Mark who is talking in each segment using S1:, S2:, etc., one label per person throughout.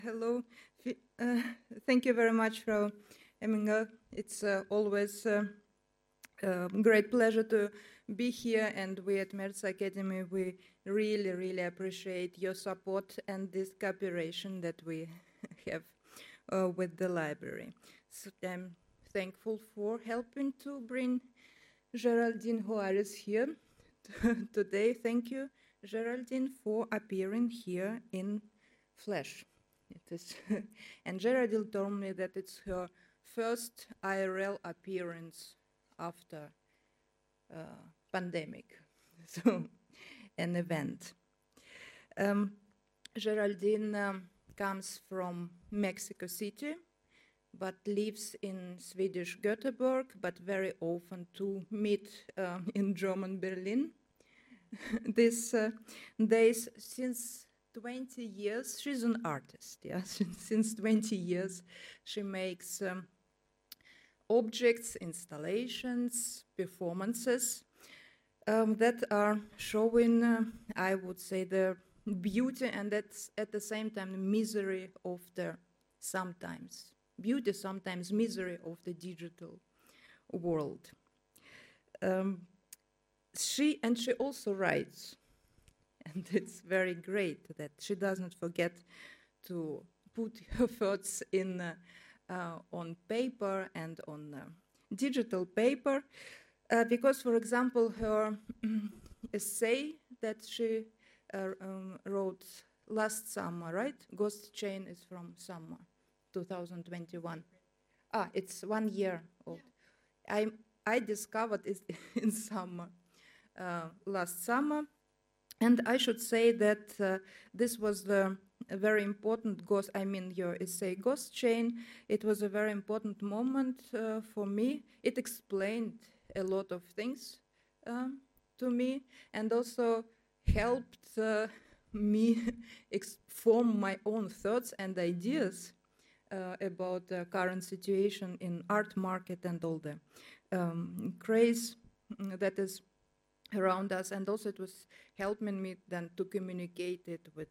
S1: Hello. Thank you very much, Frau Emminger. It's always a great pleasure to be here, and we at Merz Academy, we really, really appreciate your support and this cooperation that we have with the library. So I'm thankful for helping to bring Geraldine Juarez here today. Thank you, Geraldine, for appearing here in flesh. It is and Geraldine told me that it's her first IRL appearance after pandemic, so an event. Geraldine comes from Mexico City, but lives in Swedish Gothenburg, but very often to meet in German Berlin. These days, since 20 years, she's an artist, yeah. Since 20 years, she makes objects, installations, performances that are showing, I would say, the beauty and that's at the same time the misery of the sometimes beauty, sometimes misery of the digital world. She also writes, and it's very great that she doesn't forget to put her thoughts in on paper and on digital paper, because, for example, her essay that she wrote last summer, right? Ghost Chain is from summer 2021. It's 1 year old. Yeah. I discovered it in summer, last summer. And I should say that this was a very important your essay, Ghost Chain. It was a very important moment for me. It explained a lot of things to me and also helped me form my own thoughts and ideas about the current situation in art market and all the craze that is around us, and also it was helping me then to communicate it with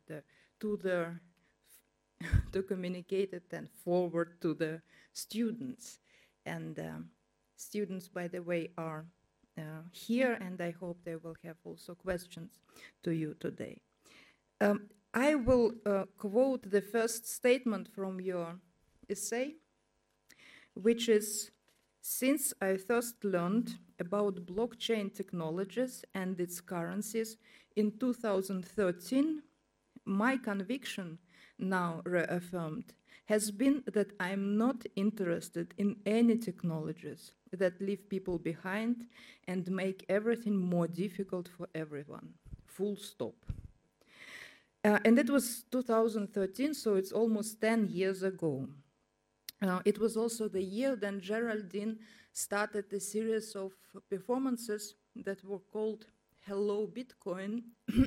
S1: to communicate it then forward to the students. And students, by the way, are here, and I hope they will have also questions to you today. I will quote the first statement from your essay, which is, "Since I first learned about blockchain technologies and its currencies in 2013, my conviction, now reaffirmed, has been that I'm not interested in any technologies that leave people behind and make everything more difficult for everyone. Full stop." And it was 2013, so it's almost 10 years ago. It was also the year then Geraldine started a series of performances that were called Hello Bitcoin,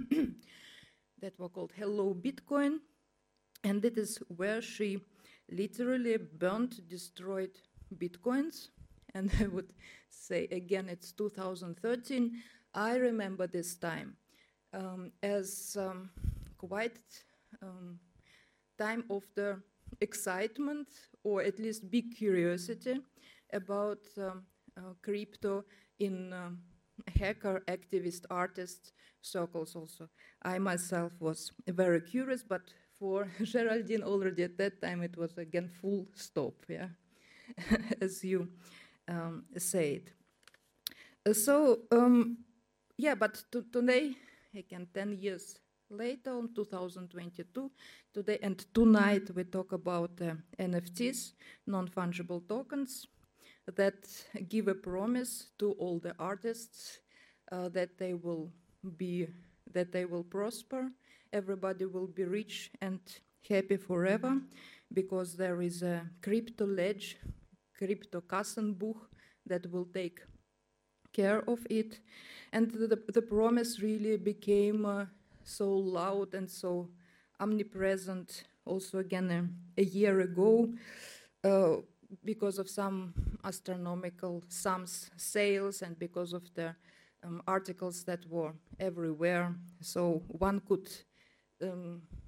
S1: and it is where she literally destroyed Bitcoins. And I would say again, it's 2013. I remember this time as quite time of the excitement, or at least big curiosity about crypto in hacker, activist, artist circles also. I myself was very curious, but for Geraldine already at that time it was again full stop, yeah, as you said. But today, again, 10 years later, in 2022, today and tonight we talk about NFTs, non-fungible tokens, that give a promise to all the artists that they will prosper, everybody will be rich and happy forever, because there is a crypto ledge, crypto Kassenbuch, that will take care of it. And the promise really became so loud and so omnipresent also again a year ago because of some astronomical sums sales and because of the articles that were everywhere. So one could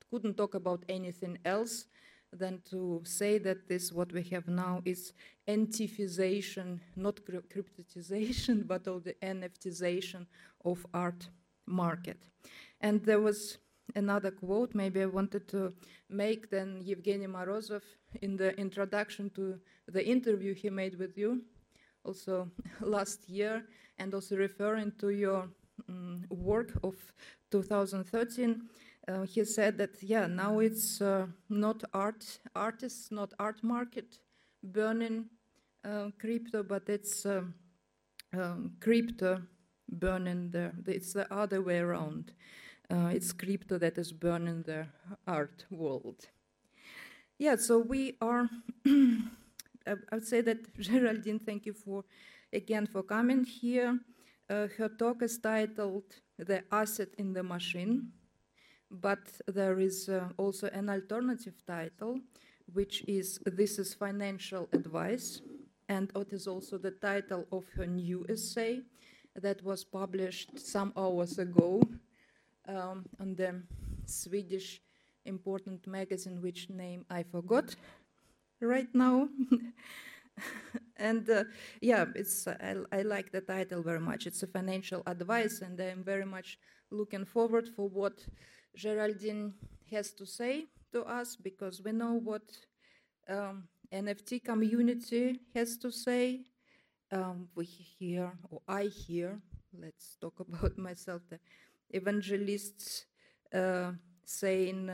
S1: couldn't talk about anything else than to say that this, what we have now, is NFTization, not cryptotization, but of the NFTization of art market. And there was another quote maybe I wanted to make, then Evgeny Morozov in the introduction to the interview he made with you also last year, and also referring to your work of 2013, he said that, yeah, now it's not artists, not art market burning crypto, but it's crypto burning it's the other way around. It's crypto that is burning the art world. Yeah, so we are, I would say that Geraldine, thank you again for coming here. Her talk is titled The Asset in the Machine, but there is also an alternative title, which is This is Financial Advice, and it is also the title of her new essay that was published some hours ago on the Swedish important magazine, which name I forgot right now. And yeah, I like the title very much. It's a financial advice, and I'm very much looking forward for what Geraldine has to say to us, because we know what NFT community has to say. We hear, or I hear, let's talk about myself, the evangelists saying,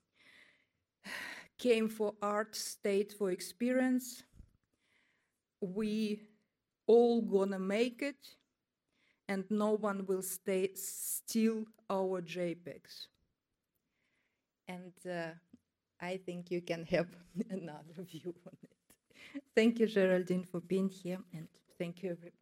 S1: came for art, stayed for experience. We all gonna make it, and no one will steal our JPEGs. And I think you can have another view on it. Thank you, Geraldine, for being here, and thank you, everybody.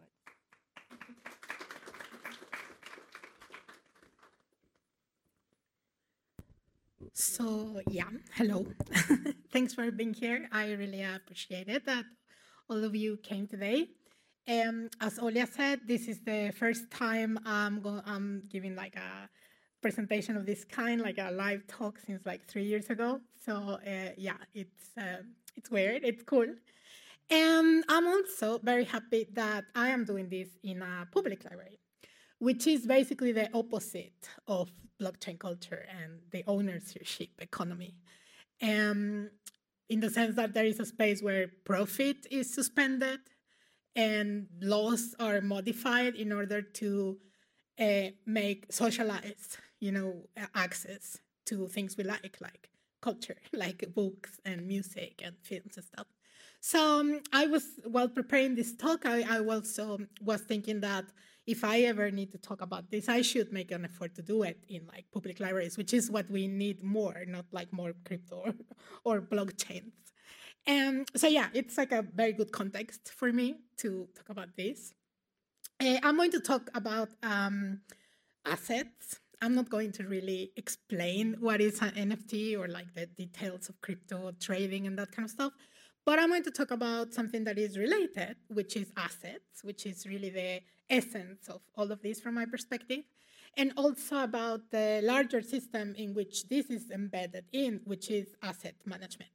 S2: So, yeah, hello. Thanks for being here. I really appreciate it that all of you came today. As Olya said, this is the first time I'm giving like a presentation of this kind, like a live talk since like 3 years ago. So, yeah, it's weird, it's cool. And I'm also very happy that I am doing this in a public library, which is basically the opposite of blockchain culture and the ownership economy. In the sense that there is a space where profit is suspended and laws are modified in order to make socialized, access to things we like culture, like books and music and films and stuff. So while preparing this talk, I also was thinking that if I ever need to talk about this, I should make an effort to do it in like public libraries, which is what we need more, not like more crypto or blockchains. So yeah, it's like a very good context for me to talk about this. I'm going to talk about assets. I'm not going to really explain what is an NFT or like the details of crypto trading and that kind of stuff. But I'm going to talk about something that is related, which is assets, which is really the essence of all of this from my perspective, and also about the larger system in which this is embedded in, which is asset management.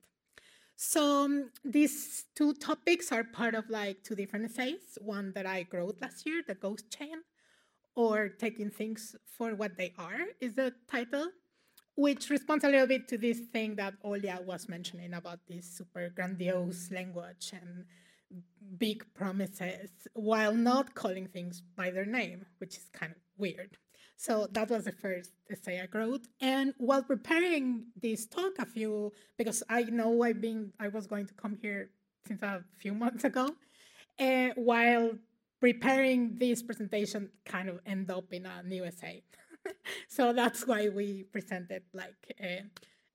S2: So these two topics are part of like two different essays, one that I wrote last year, The Ghost Chain, or Taking Things for What They Are is the title, which responds a little bit to this thing that Olya was mentioning about this super grandiose language and big promises while not calling things by their name, which is kind of weird. So that was the first essay I wrote. And while preparing this talk because I know I was going to come here since a few months ago, while preparing this presentation kind of end up in a new essay. So that's why we presented it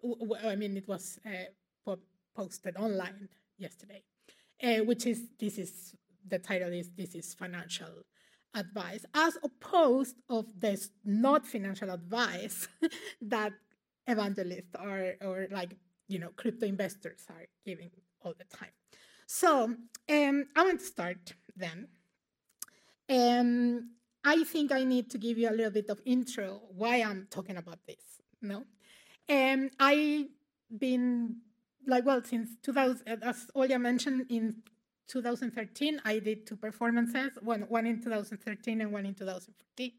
S2: was posted online yesterday, the title is This is Financial Advice, as opposed of this not financial advice that evangelists or crypto investors are giving all the time. So I want to start then. I think I need to give you a little bit of intro why I'm talking about this, no? I been like, well, since 2000, as Olya mentioned, in 2013, I did two performances, one in 2013 and one in 2014,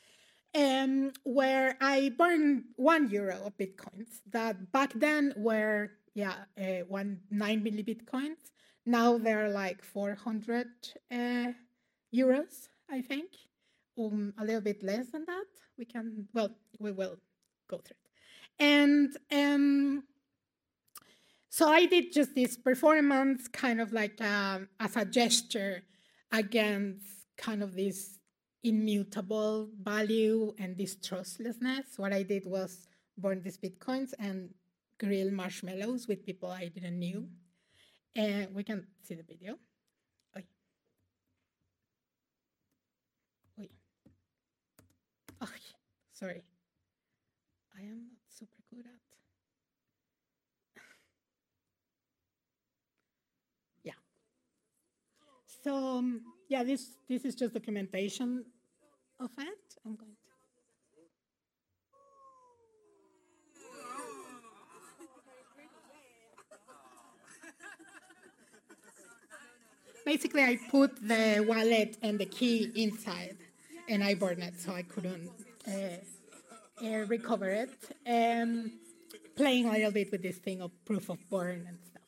S2: where I burned €1 of Bitcoins that back then were, 9 milli Bitcoins. Now they're like 400 euros, I think, a little bit less than that. We will go through it. And so I did just this performance kind of like as a gesture against kind of this immutable value and this trustlessness. What I did was burn these Bitcoins and grill marshmallows with people I didn't knew. And we can see the video. Oy. Oy. Oh, sorry. I am not super good at. Yeah. So yeah, this is just documentation of it. I'm going to. Basically, I put the wallet and the key inside, and I burned it, so I couldn't recover it. Playing a little bit with this thing of proof of burn and stuff.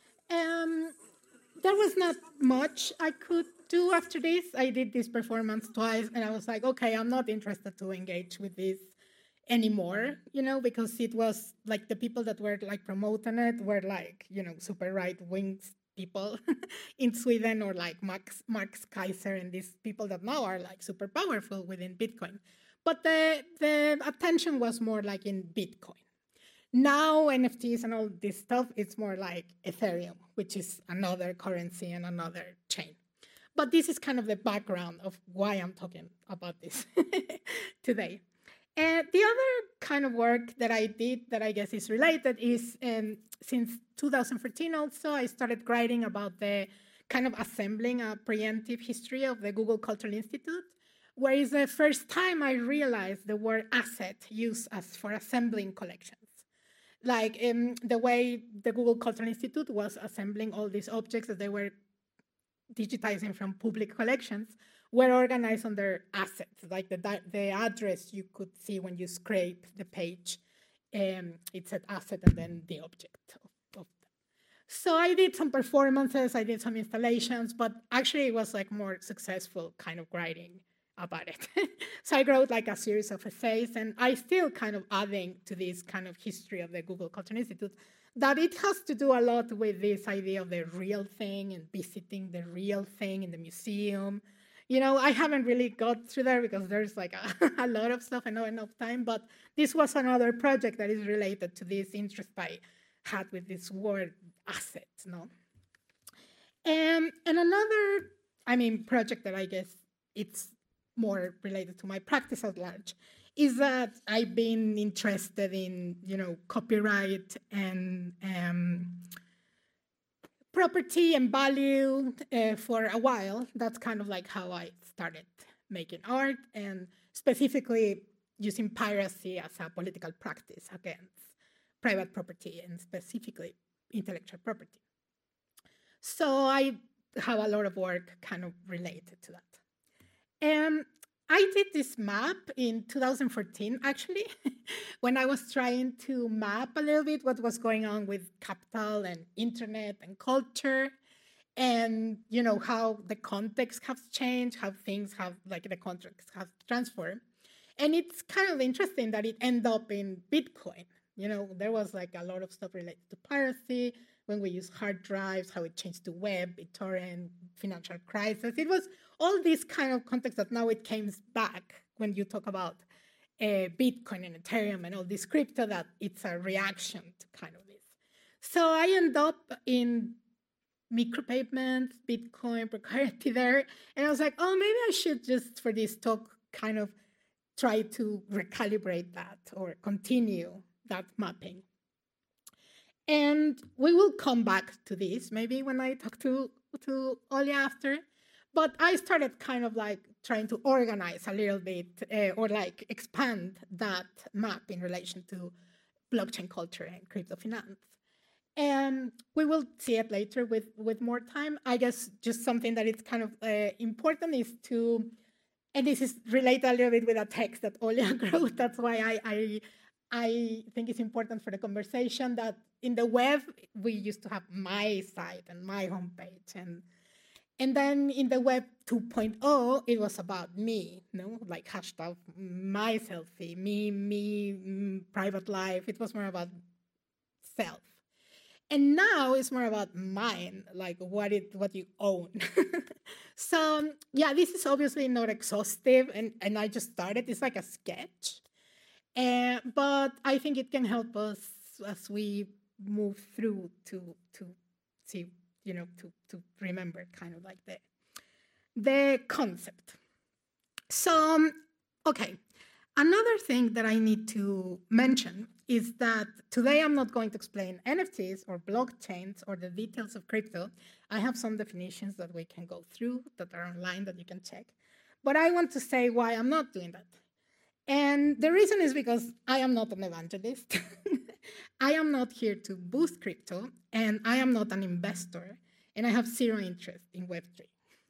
S2: There was not much I could do after this. I did this performance twice, and I was like, okay, I'm not interested to engage with this anymore, because it was like the people that were like promoting it were like, super right-wing people in Sweden, or like Marx Kaiser and these people that now are like super powerful within Bitcoin. But the attention was more like in Bitcoin. Now NFTs and all this stuff, it's more like Ethereum, which is another currency and another chain. But this is kind of the background of why I'm talking about this today. The other kind of work that I did that I guess is related is since 2014 also, I started writing about the kind of assembling a preemptive history of the Google Cultural Institute, where it's the first time I realized the word asset used as for assembling collections. Like the way the Google Cultural Institute was assembling all these objects that they were digitizing from public collections were organized under assets, like the address you could see when you scrape the page. It said asset and then the object of them. So I did some performances, I did some installations, but actually it was like more successful kind of writing about it. So I wrote like a series of essays, and I still kind of adding to this kind of history of the Google Cultural Institute that it has to do a lot with this idea of the real thing and visiting the real thing in the museum. I haven't really got through there because there's like a lot of stuff and not enough time, but this was another project that is related to this interest I had with this word asset, no? And another, project that I guess it's more related to my practice at large is that I've been interested in, copyright and property and value for a while. That's kind of like how I started making art, and specifically using piracy as a political practice against private property and specifically intellectual property. So I have a lot of work kind of related to that. I did this map in 2014, actually, when I was trying to map a little bit what was going on with capital and internet and culture, and how the context has changed, how things have, like the context has transformed. And it's kind of interesting that it ended up in Bitcoin. There was like a lot of stuff related to piracy, when we use hard drives, how it changed to web, BitTorrent, financial crisis. It was all this kind of context that now it came back when you talk about Bitcoin and Ethereum and all this crypto, that it's a reaction to kind of this. So I end up in micropayments, Bitcoin, precarity there. And I was like, oh, maybe I should just, for this talk, kind of try to recalibrate that or continue that mapping. And we will come back to this maybe when I talk to Olya after. But I started kind of like trying to organize a little bit or like expand that map in relation to blockchain culture and crypto finance. And we will see it later with more time. I guess just something that is kind of important is to, and this is related a little bit with a text that Olia wrote. That's why I think it's important for the conversation that in the web, we used to have my site and my homepage. And then in the web 2.0, it was about me, like hashtag my selfie, me, private life. It was more about self. And now it's more about mine, like what you own. So yeah, this is obviously not exhaustive, and I just started. It's like a sketch, but I think it can help us as we move through to see, to remember kind of like the concept. So, okay. Another thing that I need to mention is that today I'm not going to explain NFTs or blockchains or the details of crypto. I have some definitions that we can go through that are online that you can check. But I want to say why I'm not doing that. And the reason is because I am not an evangelist. I am not here to boost crypto, and I am not an investor, and I have zero interest in Web3.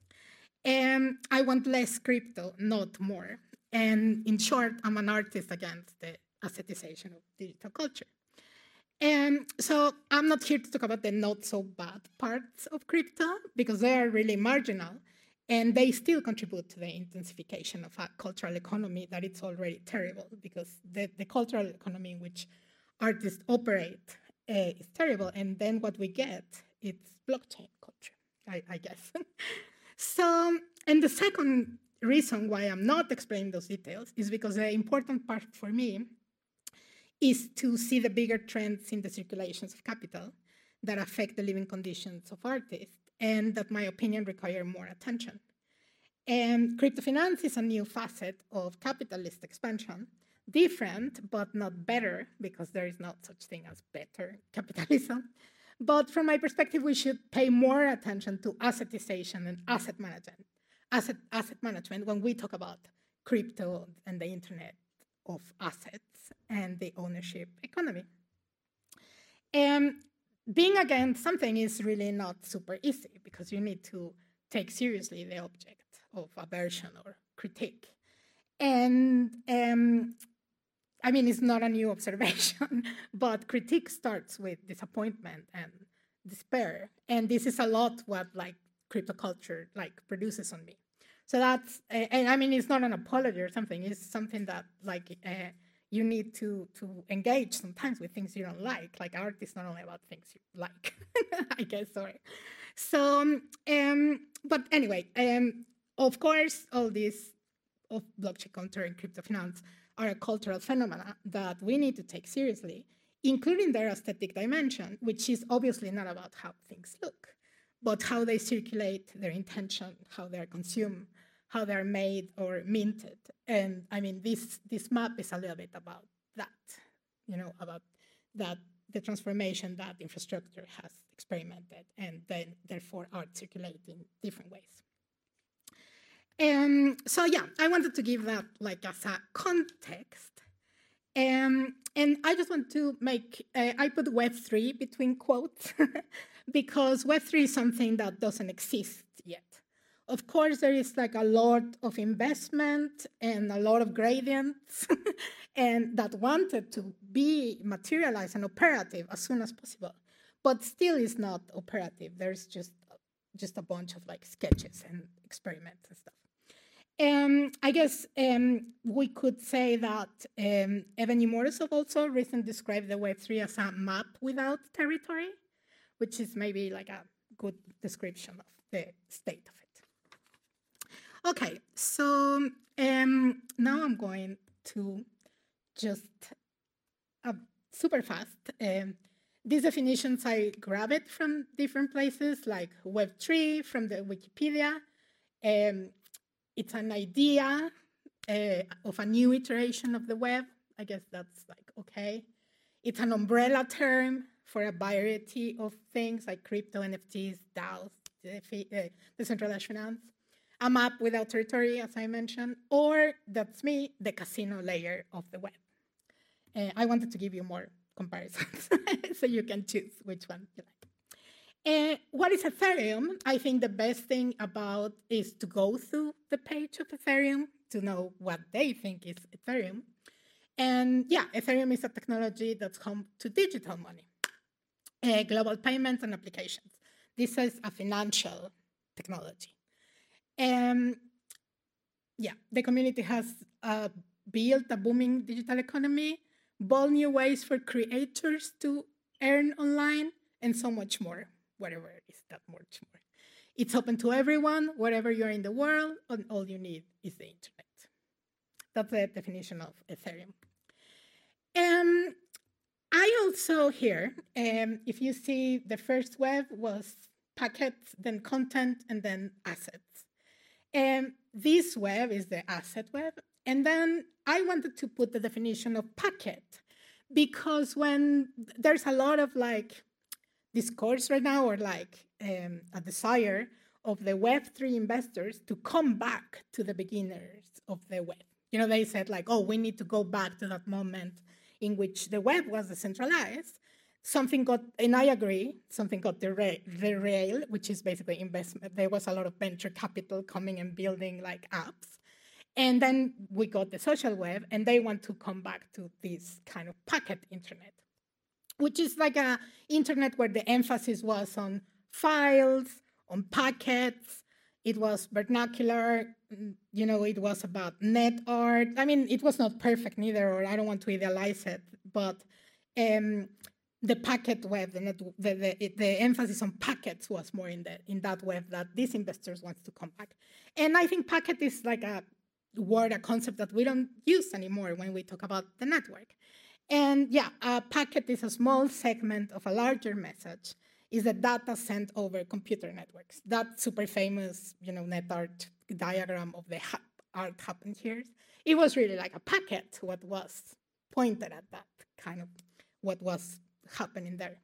S2: And I want less crypto, not more. And in short, I'm an artist against the assetization of digital culture. And so I'm not here to talk about the not so bad parts of crypto because they are really marginal and they still contribute to the intensification of a cultural economy that it's already terrible because the cultural economy in which artists operate is terrible. And then what we get, it's blockchain culture, I guess. So, and the second reason why I'm not explaining those details is because the important part for me is to see the bigger trends in the circulations of capital that affect the living conditions of artists and that, my opinion, require more attention. And crypto finance is a new facet of capitalist expansion, different but not better because there is no such thing as better capitalism. But from my perspective, we should pay more attention to assetization and asset management when we talk about crypto and the internet of assets and the ownership economy. And being against something is really not super easy because you need to take seriously the object of aversion or critique. And I mean, it's not a new observation, but critique starts with disappointment and despair. And this is a lot what like crypto culture like produces on me. So that's, and I mean, it's not an apology or something. It's something that like you need to engage sometimes with things you don't like. Like art is not only about things you like, I guess, sorry. So, but anyway, of course, all these of blockchain culture and crypto finance are a cultural phenomena that we need to take seriously, including their aesthetic dimension, which is obviously not about how things look, but how they circulate, their intention, how they're consumed, how they're made or minted. And I mean, this map is a little bit about that, about that the transformation that infrastructure has experimented and then therefore art circulate in different ways. So yeah, I wanted to give that like as a context. And I just want to make, I put Web3 between quotes because Web3 is something that doesn't exist yet. Of course, there is like a lot of investment and a lot of gradients and that wanted to be materialized and operative as soon as possible, but still is not operative. There's just a bunch of like sketches and experiments and stuff. I guess we could say that Evgeny Morozov also recently described the Web3 as a map without territory, which is maybe like a good description of the state of it. Okay, so now I'm going to just super fast. These definitions I grabbed from different places, like Web3 from the Wikipedia. It's an idea of a new iteration of the web. I guess that's like, okay. It's an umbrella term for a variety of things like crypto, NFTs, DAOs, decentralized finance. A map without territory, as I mentioned, or that's me, the casino layer of the web. I wanted to give you more comparisons. So you can choose which one you like. What is Ethereum? I think the best thing about is to go through the page of Ethereum to know what they think is Ethereum. And yeah, Ethereum is a technology that's home to digital money, global payments and applications. This is a financial technology. Yeah, the community has built a booming digital economy, bold new ways for creators to earn online, and so much more, whatever is that much more. It's open to everyone, wherever you are in the world, and all you need is the internet. That's the definition of Ethereum. I also here, if you see the first web was packets, then content, and then assets. This web is the asset web. And then I wanted to put the definition of packet because when there's a lot of like discourse right now or like a desire of the Web3 investors to come back to the beginners of the web. You know, they said like, oh, we need to go back to that moment in which the web was decentralized. Something got, and I agree, something got derailed, which is basically investment. There was a lot of venture capital coming and building like apps. And then we got the social web, and they want to come back to this kind of packet internet, which is like an internet where the emphasis was on files, on packets. It was vernacular, you know, it was about net art. I mean, it was not perfect neither, or I don't want to idealize it, but the packet web, the emphasis on packets was more in that web that these investors want to come back. And I think packet is like a word, a concept that we don't use anymore when we talk about the network. And yeah, a packet is a small segment of a larger message, is the data sent over computer networks. That super famous, you know, net art diagram of the art happened here. It was really like a packet, what was pointed at that kind of what was happening there.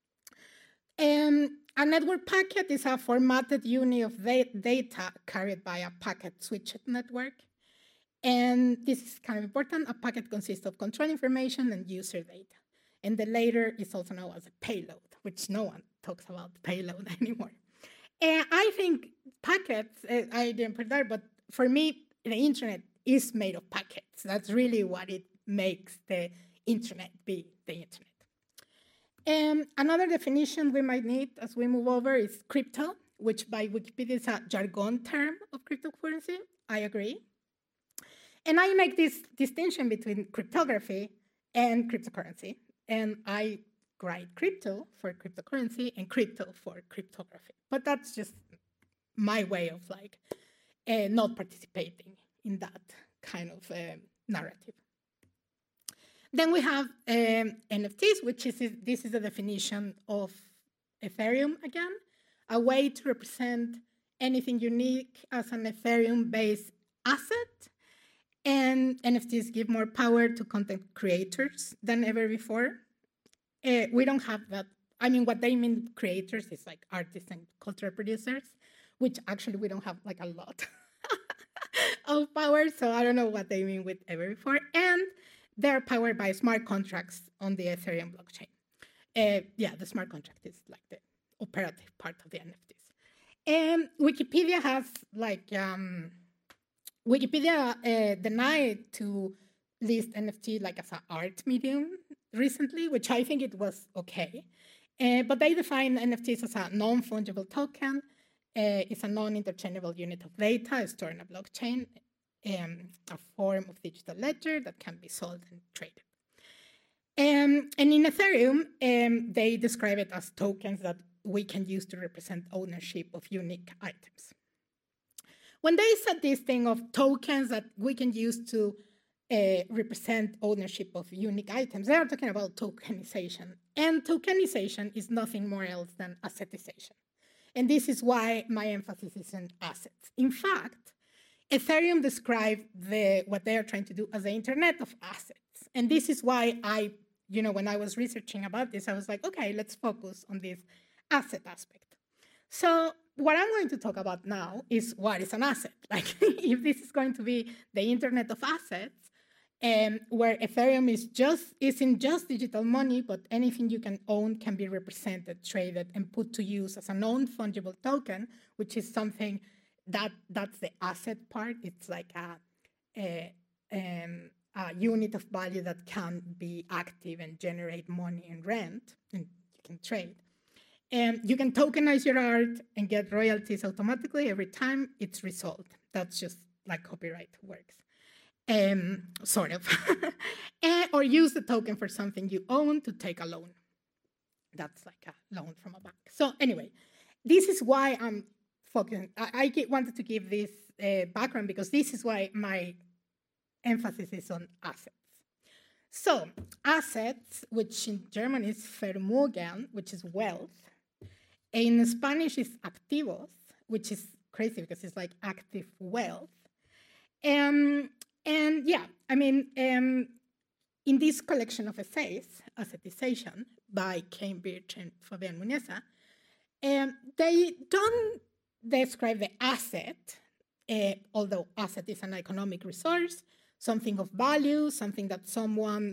S2: A network packet is a formatted unit of data carried by a packet switched network. And this is kind of important. A packet consists of control information and user data. And the latter is also known as a payload, which no one talks about payload anymore. And I think packets, I didn't put there, but for me, the internet is made of packets. That's really what it makes the internet be the internet. Another definition we might need as we move over is crypto, which by Wikipedia is a jargon term of cryptocurrency. I agree. And I make this distinction between cryptography and cryptocurrency. And I write crypto for cryptocurrency and crypto for cryptography. But that's just my way of like not participating in that kind of narrative. Then we have NFTs, which is this is the definition of Ethereum again, a way to represent anything unique as an Ethereum-based asset. And NFTs give more power to content creators than ever before. We don't have that. I mean, what they mean creators is like artists and cultural producers, which actually we don't have like a lot of power. So I don't know what they mean with ever before. And they're powered by smart contracts on the Ethereum blockchain. Yeah, the smart contract is like the operative part of the NFTs. And Wikipedia has like, Wikipedia denied to list NFT like as an art medium recently, which I think it was okay. But they define NFTs as a non-fungible token. It's a non-interchangeable unit of data stored in a blockchain, a form of digital ledger that can be sold and traded. And in Ethereum, they describe it as tokens that we can use to represent ownership of unique items. When they said this thing of tokens that we can use to represent ownership of unique items, they are talking about tokenization. And tokenization is nothing more else than assetization. And this is why my emphasis is on assets. In fact, Ethereum described what they are trying to do as the internet of assets. And this is why when I was researching about this, I was like, okay, let's focus on this asset aspect. So what I'm going to talk about now is what is an asset. Like, if this is going to be the internet of assets, where Ethereum isn't just digital money, but anything you can own can be represented, traded, and put to use as a non-fungible token, which is something that's the asset part. It's like a unit of value that can be active and generate money and rent, and you can trade. You can tokenize your art and get royalties automatically every time it's resold. That's just like copyright works. Sort of. Or use the token for something you own to take a loan. That's like a loan from a bank. So anyway, this is why I'm focusing. I wanted to give this background because this is why my emphasis is on assets. So assets, which in German is Vermögen, which is wealth. In Spanish is activos, which is crazy because it's like active wealth. And yeah, I mean, in this collection of essays, Assetization, by Cambridge and Fabian Muneza, they don't describe the asset, although asset is an economic resource, something of value, something that someone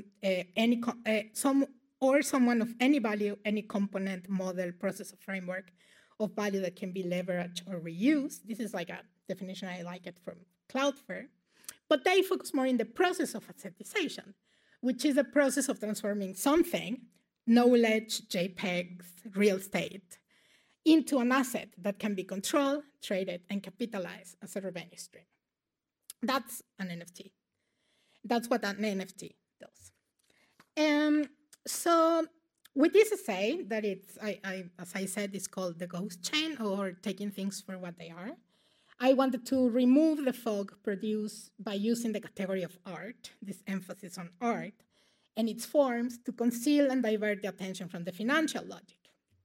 S2: of any value, any component, model, process, or framework of value that can be leveraged or reused. This is like a definition I like it from Cloudflare. But they focus more in the process of assetization, which is a process of transforming something, knowledge, JPEGs, real estate, into an asset that can be controlled, traded, and capitalized as a revenue stream. That's an NFT. That's what an NFT does. So with this essay, that it's, as I said, it's called the ghost chain, or taking things for what they are. I wanted to remove the fog produced by using the category of art, this emphasis on art, and its forms to conceal and divert the attention from the financial logic.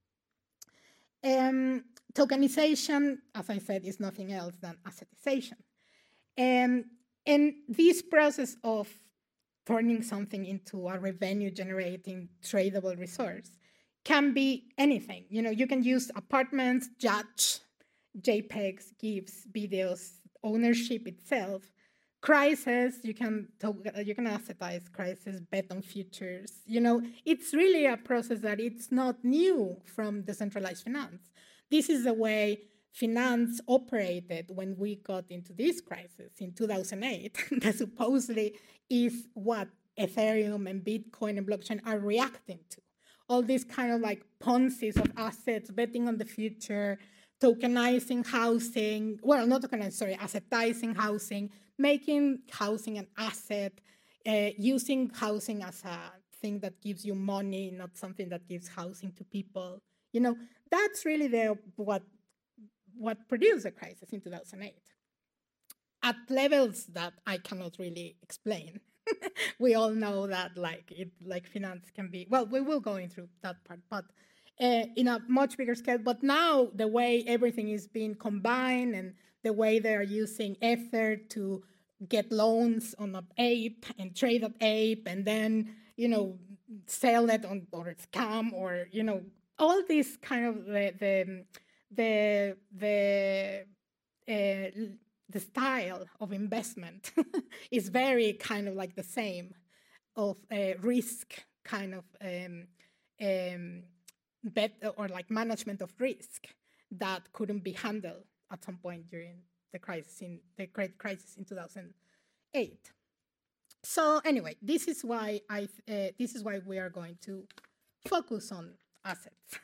S2: Tokenization, as I said, is nothing else than assetization. And this process of turning something into a revenue-generating tradable resource can be anything. You know, you can use apartments, yachts, JPEGs, GIFs, videos, ownership itself, crisis. You can assetize crisis, bet on futures. You know, it's really a process that it's not new from decentralized finance. This is the way finance operated when we got into this crisis in 2008. That supposedly is what Ethereum and Bitcoin and blockchain are reacting to. All these kind of like Ponzi's of assets, betting on the future, tokenizing housing, well, not tokenizing, sorry, assetizing housing, making housing an asset, using housing as a thing that gives you money, not something that gives housing to people. You know, that's really what produced the crisis in 2008 at levels that I cannot really explain. We all know that like finance can be, well, we will go into that part, but in a much bigger scale. But now the way everything is being combined and the way they are using Ether to get loans on an ape and trade that ape and then, you know, sell it on or scam or, you know, all this kind of the style of investment is very kind of like the same of risk kind of bet or like management of risk that couldn't be handled at some point during the great crisis in 2008. So anyway, this is why we are going to focus on assets.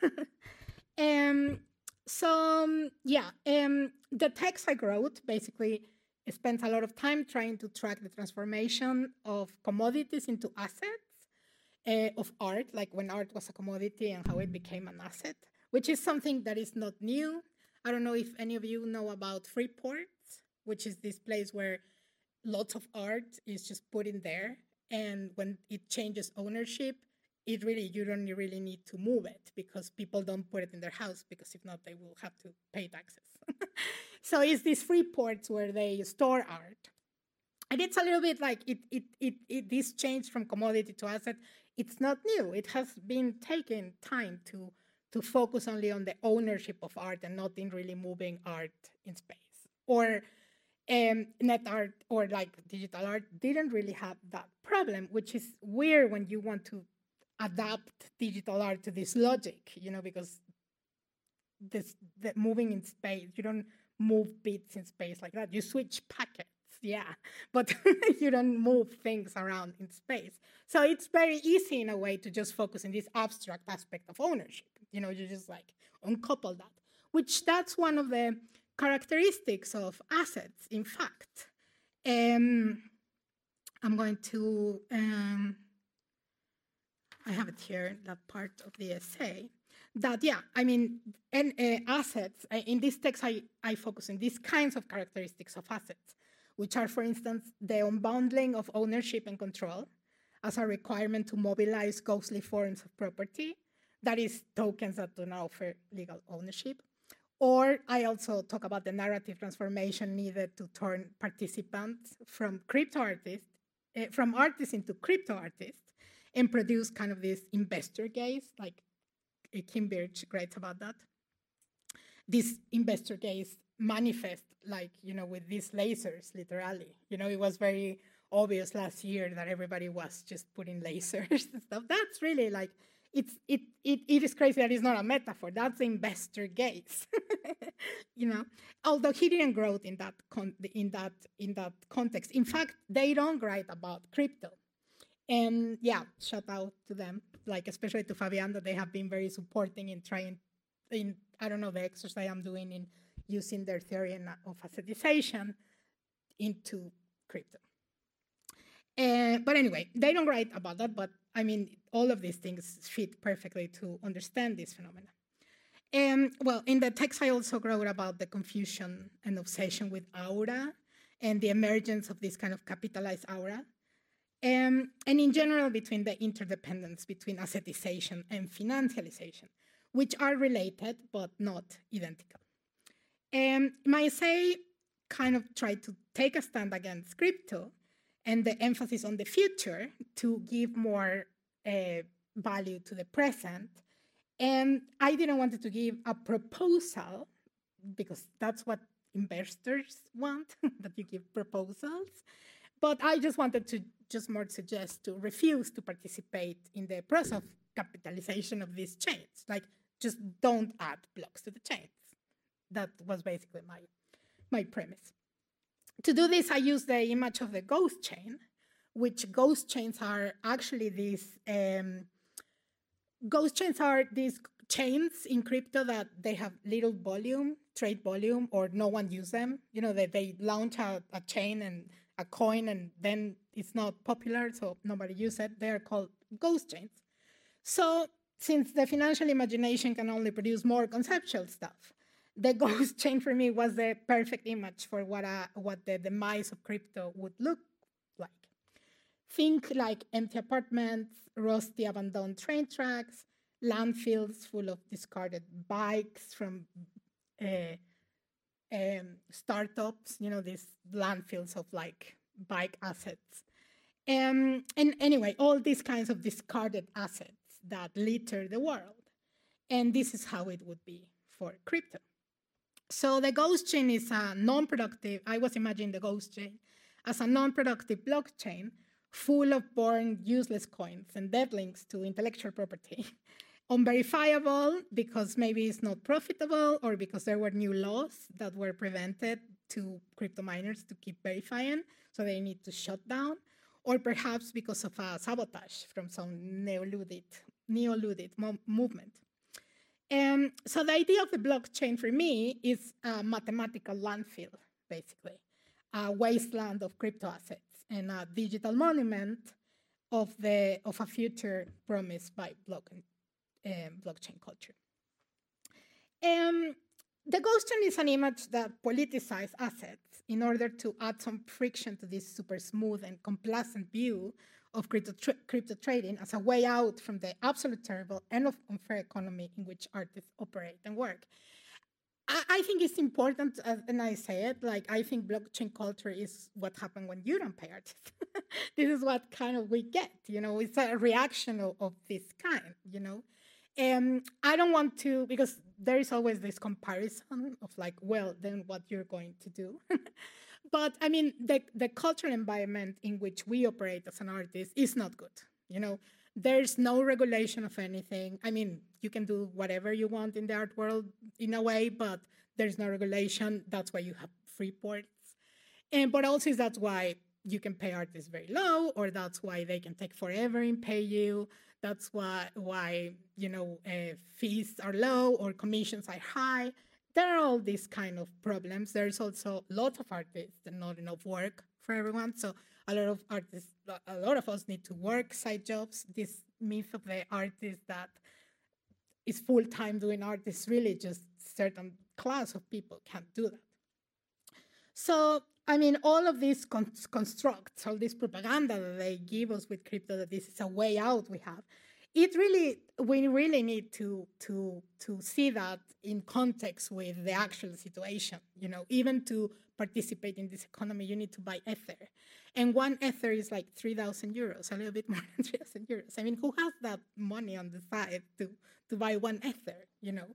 S2: The text I wrote basically spent a lot of time trying to track the transformation of commodities into assets, of art, like when art was a commodity and how it became an asset, which is something that is not new. I don't know if any of you know about Freeport, which is this place where lots of art is just put in there, and when it changes ownership, you don't really need to move it because people don't put it in their house because if not, they will have to pay taxes. So it's these free ports where they store art. And it's a little bit like this change from commodity to asset. It's not new. It has been taking time to focus only on the ownership of art and not in really moving art in space. Or net art or like digital art didn't really have that problem, which is weird when you want to adapt digital art to this logic, because the moving in space, you don't move bits in space like that. You switch packets, yeah, but you don't move things around in space. So it's very easy in a way to just focus on this abstract aspect of ownership. You just like uncouple that, which that's one of the characteristics of assets, in fact. I'm going to, I have it here, that part of the essay, that, yeah, I mean, and assets, in this text, I focus on these kinds of characteristics of assets, which are, for instance, the unbundling of ownership and control as a requirement to mobilize ghostly forms of property, that is, tokens that do not offer legal ownership. Or I also talk about the narrative transformation needed to turn participants from crypto artists, from artists into crypto artists, and produce kind of this investor gaze, like Kim Birch writes about that. This investor gaze manifest, like, with these lasers, literally. It was very obvious last year that everybody was just putting lasers and stuff. That's really like, it is crazy that it's not a metaphor. That's the investor gaze, Although he didn't grow in that context. In fact, they don't write about crypto, and yeah, shout out to them. Like especially to Fabian, that they have been very supporting in trying, I don't know, the exercise I'm doing in using their theory of assetization into crypto. But anyway, they don't write about that, but I mean, all of these things fit perfectly to understand this phenomenon. Well, in the text, I also wrote about the confusion and obsession with aura and the emergence of this kind of capitalized aura. And in general, between the interdependence between assetization and financialization, which are related but not identical. My essay kind of tried to take a stand against crypto and the emphasis on the future to give more value to the present. And I didn't want to give a proposal, because that's what investors want, that you give proposals. But I just wanted to just more suggest to refuse to participate in the process of capitalization of these chains. Like, just don't add blocks to the chains. That was basically my premise. To do this, I used the image of the ghost chain, which ghost chains are actually these chains in crypto that they have little volume, trade volume, or no one use them. They launch a chain and a coin, and then it's not popular, so nobody uses it. They're called ghost chains. So since the financial imagination can only produce more conceptual stuff, the ghost chain for me was the perfect image for what the demise of crypto would look like. Think like empty apartments, rusty abandoned train tracks, landfills full of discarded bikes from startups, these landfills of like bike assets. And anyway, all these kinds of discarded assets that litter the world. And this is how it would be for crypto. So the ghost chain is a non-productive, I was imagining the ghost chain as a non-productive blockchain full of born useless coins and dead links to intellectual property. Unverifiable because maybe it's not profitable, or because there were new laws that were prevented to crypto miners to keep verifying, so they need to shut down, or perhaps because of a sabotage from some neo-ludite movement. So the idea of the blockchain for me is a mathematical landfill, basically, a wasteland of crypto assets and a digital monument of a future promised by blockchain culture. The ghost chain is an image that politicizes assets in order to add some friction to this super smooth and complacent view of crypto trading as a way out from the absolute terrible and unfair economy in which artists operate and work. I think it's important, and I say it, like, I think blockchain culture is what happened when you don't pay artists. This is what kind of we get, it's a reaction of this kind, I don't want to, because there is always this comparison of like, well, then what you're going to do. But I mean, the cultural environment in which we operate as an artist is not good. You know, there's no regulation of anything. I mean, you can do whatever you want in the art world in a way, but there's no regulation. That's why you have free ports. But also that's why you can pay artists very low, or that's why they can take forever in pay you. That's why fees are low or commissions are high. There are all these kind of problems. There's also lots of artists and not enough work for everyone. So a lot of us need to work side jobs. This myth of the artist that is full-time doing art is really just certain class of people can't do that. So, I mean, all of these constructs, all this propaganda that they give us with crypto, that this is a way out we have, we really need to see that in context with the actual situation. You know, even to participate in this economy, you need to buy Ether. And one Ether is like 3,000 euros, a little bit more than 3,000 euros. I mean, who has that money on the side to buy one Ether, you know?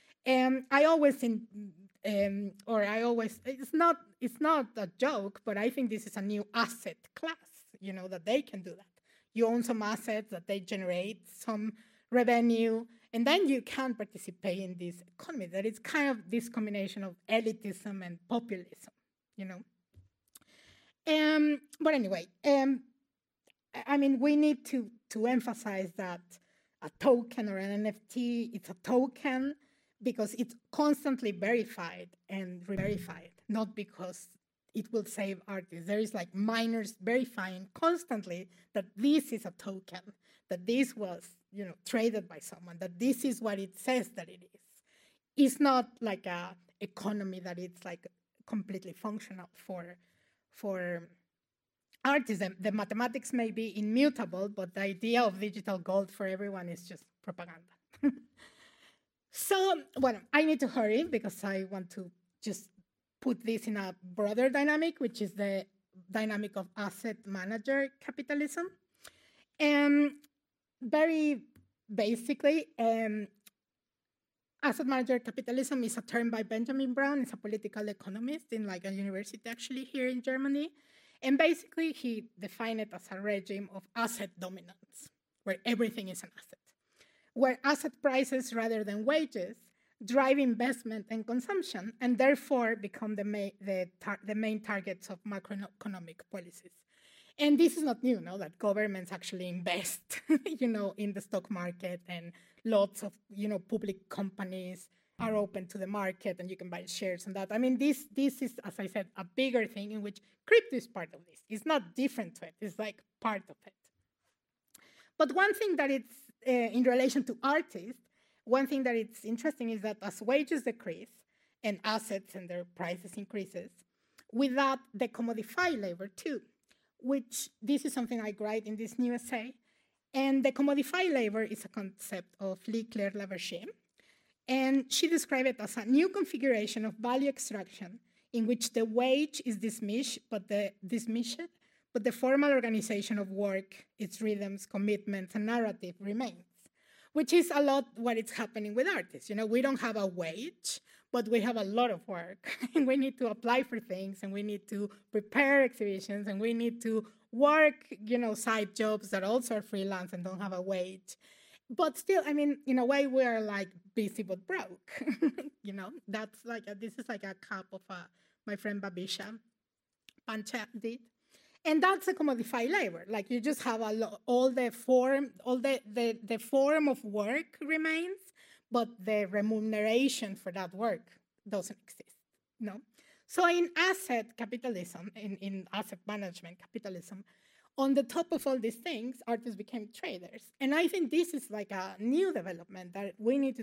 S2: It's not a joke, but I think this is a new asset class, you know, that they can do that. You own some assets that they generate some revenue, and then you can participate in this economy. That it's kind of this combination of elitism and populism, you know. But anyway, I mean, we need to emphasize that a token or an NFT, it's a token because it's constantly verified and re-verified, not because it will save artists. There is like miners verifying constantly that this is a token, that this was, you know, traded by someone, that this is what it says that it is. It's not like a economy that it's like completely functional for artists. The mathematics may be immutable, but the idea of digital gold for everyone is just propaganda. So, well, I need to hurry because I want to just put this in a broader dynamic, which is the dynamic of asset manager capitalism. Very basically, asset manager capitalism is a term by Benjamin Brown. He's a political economist in like a university actually here in Germany. And basically, he defined it as a regime of asset dominance, where everything is an asset, where asset prices rather than wages drive investment and consumption, and therefore become the main targets of macroeconomic policies. And this is not new, no? That governments actually invest, you know, in the stock market, and lots of, you know, public companies are open to the market, and you can buy shares and that. I mean, this is, as I said, a bigger thing in which crypto is part of this. It's not different to it. It's like part of it. But one thing that it's in relation to artists, one thing that it's interesting is that as wages decrease and assets and their prices increases, with that, they commodify labor too, which this is something I write in this new essay. And the commodify labor is a concept of Lee-Claire Lavergier. And she described it as a new configuration of value extraction in which the wage is dismissed, but the formal organization of work, its rhythms, commitments, and narrative remains, which is a lot what is happening with artists. You know, we don't have a wage, but we have a lot of work, and we need to apply for things, and we need to prepare exhibitions, and we need to work, you know, side jobs that also are freelance and don't have a wage. But still, I mean, in a way, we are like busy but broke. You know, that's like this is like a cap of my friend Babisha Pancha did. And that's a commodified labor. Like you just have all the form of work remains, but the remuneration for that work doesn't exist. No. So in asset capitalism, in asset management capitalism, on the top of all these things, artists became traders. And I think this is like a new development that we need to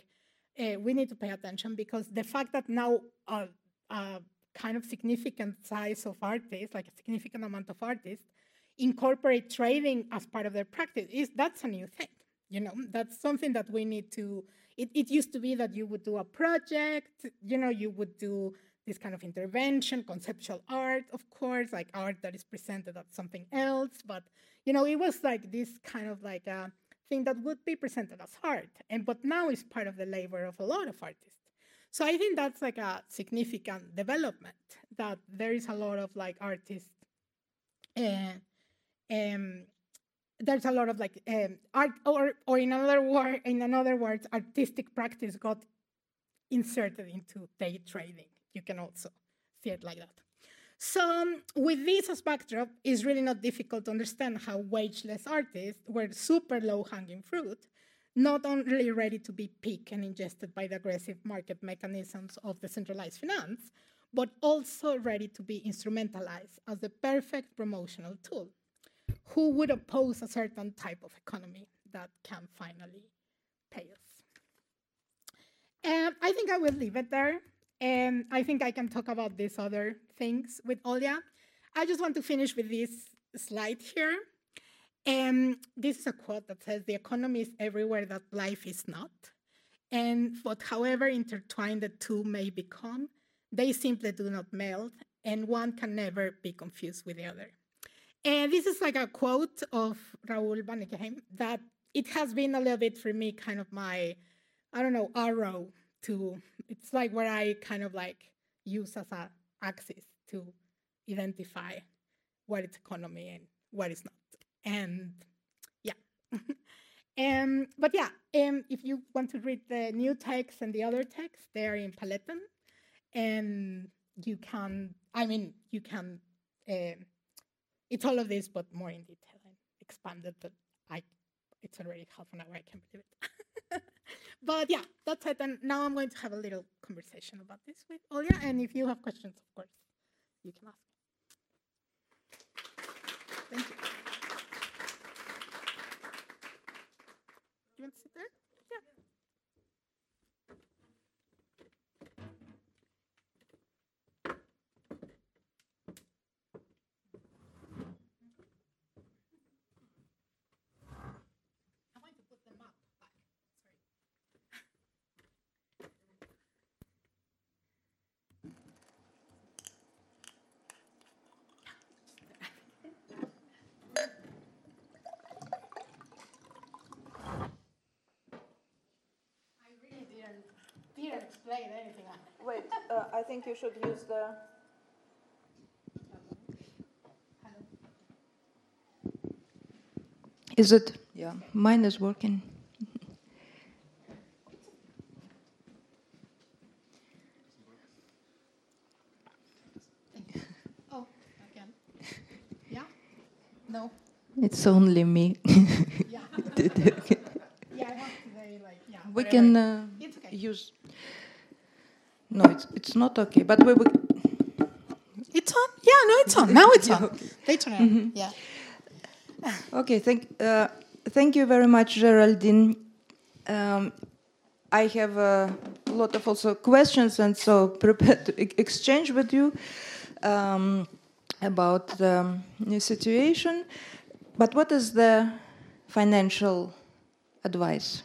S2: pay attention, because the fact that now kind of significant size of artists, like a significant amount of artists, incorporate trading as part of their practice, that's a new thing. You know, that's something that we need to, it used to be that you would do a project, you know, you would do this kind of intervention, conceptual art, of course, like art that is presented as something else. But, you know, it was like this kind of like thing that would be presented as art, but now is part of the labor of a lot of artists. So I think that's like a significant development, that there is a lot of like artists, there's a lot of like art, or in other words, artistic practice got inserted into day trading. You can also see it like that. So with this as backdrop, it's really not difficult to understand how wageless artists were super low-hanging fruit, not only ready to be picked and ingested by the aggressive market mechanisms of decentralized finance, but also ready to be instrumentalized as the perfect promotional tool, who would oppose a certain type of economy that can finally pay us. I think I will leave it there. And I think I can talk about these other things with Olya. I just want to finish with this slide here. This is a quote that says, "The economy is everywhere that life is not. But however intertwined the two may become, they simply do not meld, and one can never be confused with the other." And this is like a quote of Raoul Vaneigem that it has been a little bit for me kind of my, I don't know, arrow to, it's like where I kind of like use as an axis to identify what is economy and what is not. And yeah. But yeah, if you want to read the new text and the other texts, they are in Paletten. And you can, it's all of this, but more in detail and expanded, but it's already half an hour, I can't believe it. But yeah, that's it. And now I'm going to have a little conversation about this with Olya. And if you have questions, of course, you can ask. Thank you. You want to sit there? Yeah. I'm going to put them up. Didn't explain anything.
S1: Wait, I think you should use the... Is it? Yeah, mine is working.
S2: Oh, again. Yeah? No.
S1: It's only me.
S2: Yeah. Yeah, I have to say, like, yeah.
S1: We
S2: whatever.
S1: can
S2: It's okay.
S1: use... No, it's not okay, but we will...
S2: It's on? Yeah, no, it's on. Now it's on.
S1: Okay.
S2: Later on. Yeah.
S1: Okay, thank you very much, Geraldine. I have a lot of also questions, and so prepared to exchange with you about the new situation. But what is the financial advice?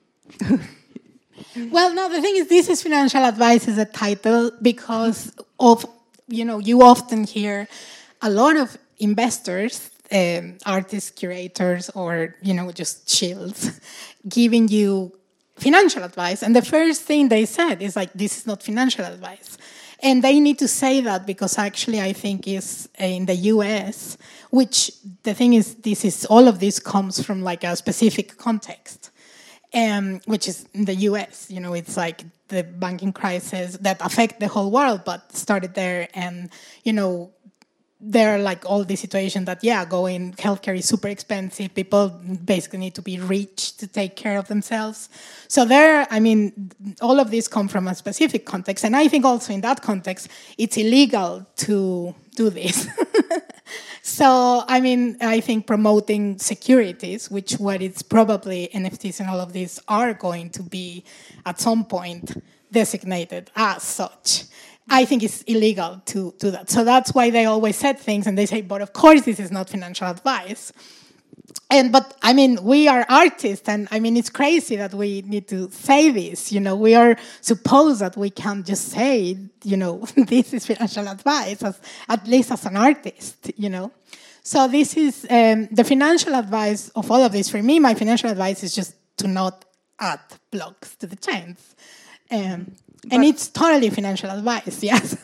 S2: Well, no, the thing is, this is financial advice as a title because of, you often hear a lot of investors, artists, curators, or, just chills giving you financial advice. And the first thing they said is like, this is not financial advice. And they need to say that because actually I think is in the US, which the thing is, all of this comes from like a specific context. Which is in the US, it's like the banking crisis that affect the whole world, but started there. And, there are like all these situations that, going healthcare is super expensive. People basically need to be rich to take care of themselves. So all of this come from a specific context. And I think also in that context, it's illegal to do this. So, I think promoting securities, which what it's probably NFTs and all of these are going to be at some point designated as such, I think it's illegal to do that. So that's why they always said things and they say, but of course this is not financial advice. But we are artists and it's crazy that we need to say this, we are supposed that we can just say, this is financial advice, at least as an artist, So this is the financial advice of all of this. For me, my financial advice is just to not add blocks to the chains. And it's totally financial advice, yes.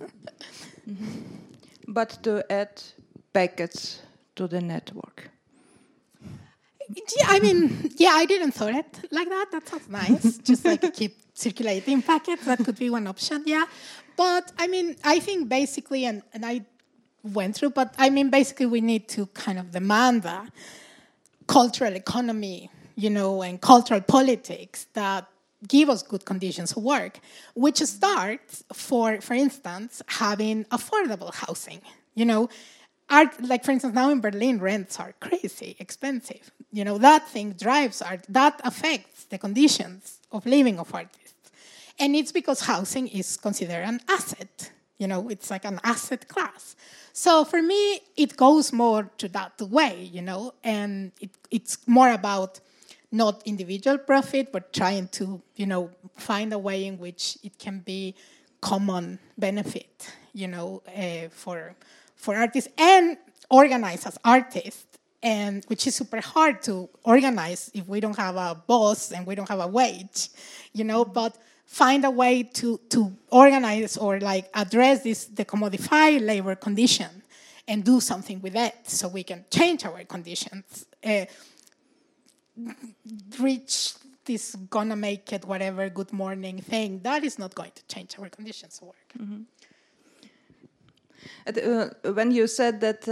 S1: But to add packets to the network.
S2: Yeah, I mean, yeah, I didn't thought it like that. That sounds nice. Just like keep circulating packets. That could be one option, yeah. But I mean, I think basically, and I went through, but I mean, basically we need to kind of demand a cultural economy, and cultural politics that give us good conditions of work, which starts for instance, having affordable housing, Like, for instance, now in Berlin, rents are crazy expensive. That thing drives art. That affects the conditions of living of artists. And it's because housing is considered an asset. It's like an asset class. So for me, it goes more to that way, and it's more about not individual profit, but trying to, find a way in which it can be common benefit, for artists and organize as artists, and which is super hard to organize if we don't have a boss and we don't have a wage, but find a way to organize or like address the commodified labor condition and do something with it so we can change our conditions. Reach this gonna make it whatever good morning thing, that is not going to change our conditions of work.
S1: Mm-hmm. When you said that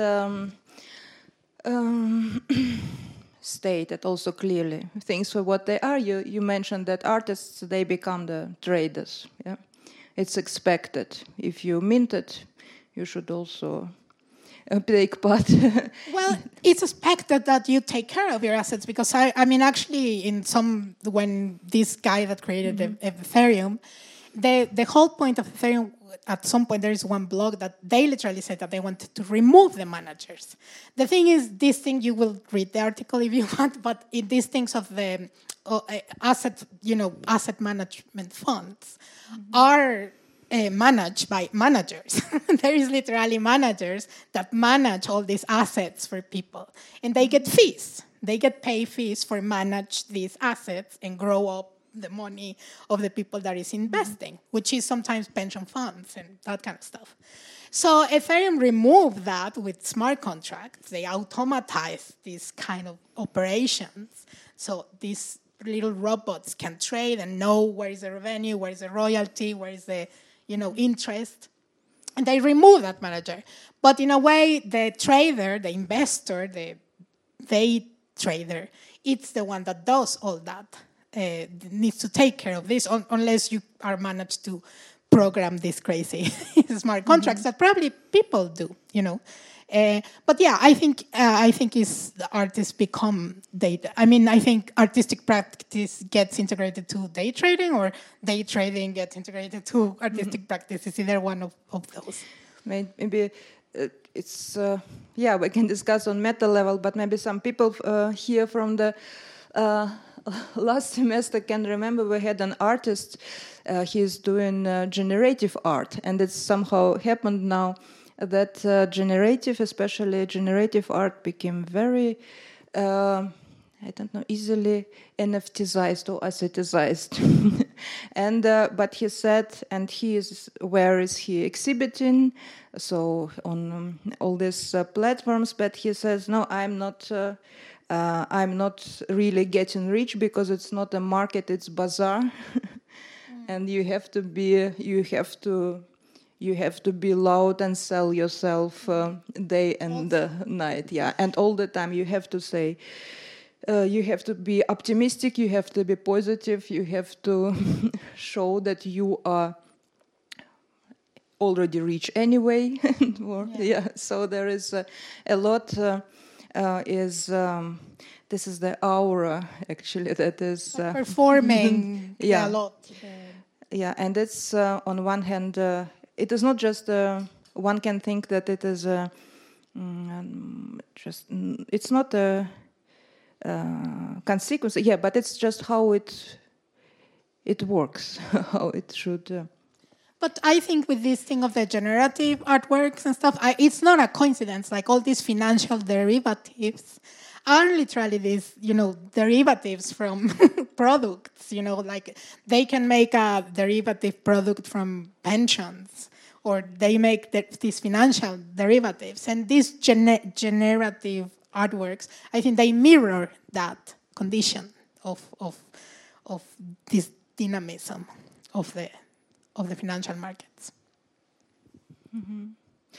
S1: stated also clearly things for what they are, you mentioned that artists, they become the traders. Yeah, it's expected. If you mint it, you should also take part.
S2: Well, it's expected that you take care of your assets, because I mean, actually, when this guy that created Ethereum, the whole point of Ethereum, at some point there is one blog that they literally said that they wanted to remove the managers. The thing is, this thing, you will read the article if you want, but in these things of the asset management funds are managed by managers. There is literally managers that manage all these assets for people, and they get fees. They get pay fees for manage these assets and grow up the money of the people that is investing, which is sometimes pension funds and that kind of stuff. So Ethereum removed that with smart contracts. They automatize these kind of operations. So these little robots can trade and know where is the revenue, where is the royalty, where is the interest. And they remove that manager. But in a way, the trader, the investor, the day trader, it's the one that does all that. Needs to take care of this, unless you are managed to program these crazy smart contracts that probably people do, But yeah, I think the artists become data. I mean, I think artistic practice gets integrated to day trading, or day trading gets integrated to artistic practice. It's either one of those.
S1: Maybe it's we can discuss on meta level, but maybe some people here from the last semester can remember we had an artist. He's doing generative art, and it's somehow happened now that especially generative art became very, easily NFTized or assetized. And but he said, and where is he exhibiting? So on all these platforms, but he says, no, I'm not really getting rich because it's not a market, it's bazaar. And you have to be loud and sell yourself day and night, yeah. And all the time you have to say, you have to be optimistic, you have to be positive, you have to show that you are already rich anyway. So there is a lot. This is the aura, actually, that is
S2: performing a lot.
S1: Yeah, and it's on one hand, it is not just one can think that it is it's not a consequence. Yeah, but it's just how it works, how it should.
S2: But I think with this thing of the generative artworks and stuff, it's not a coincidence. Like all these financial derivatives are literally these, derivatives from products. Like they can make a derivative product from pensions, or they make these financial derivatives. And these generative artworks, I think they mirror that condition of this dynamism of the financial markets.
S1: Mm-hmm.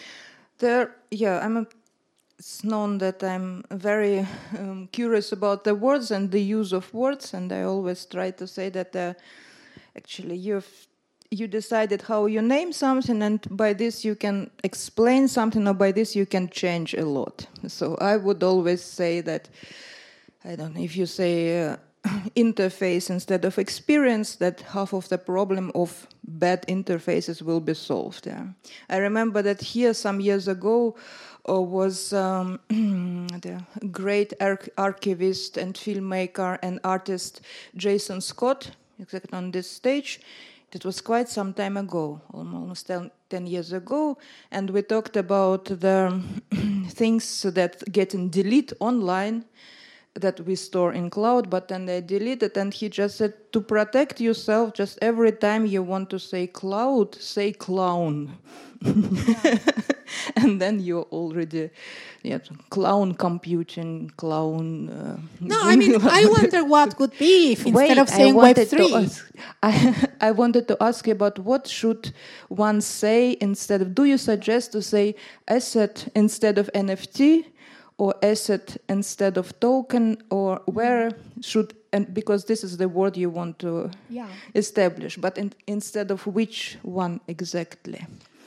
S1: It's known that I'm very curious about the words and the use of words, and I always try to say that actually you decided how you name something, and by this you can explain something, or by this you can change a lot. So I would always say that, I don't know, if you say interface instead of experience, that half of the problem of bad interfaces will be solved. Yeah. I remember that here some years ago was the great archivist and filmmaker and artist Jason Scott, exactly on this stage. It was quite some time ago, almost 10 years ago, and we talked about the things that get deleted online that we store in cloud, but then they delete it, and he just said, to protect yourself, just every time you want to say cloud, say clown. Yeah. And then you're already clown computing, clown...
S2: No, I mean, I wonder what would be if instead of saying Web3...
S1: I wanted to ask you about what should one say instead of... Do you suggest to say asset instead of NFT, or asset instead of token, or where should, and because this is the word you want to establish, but instead of which one exactly?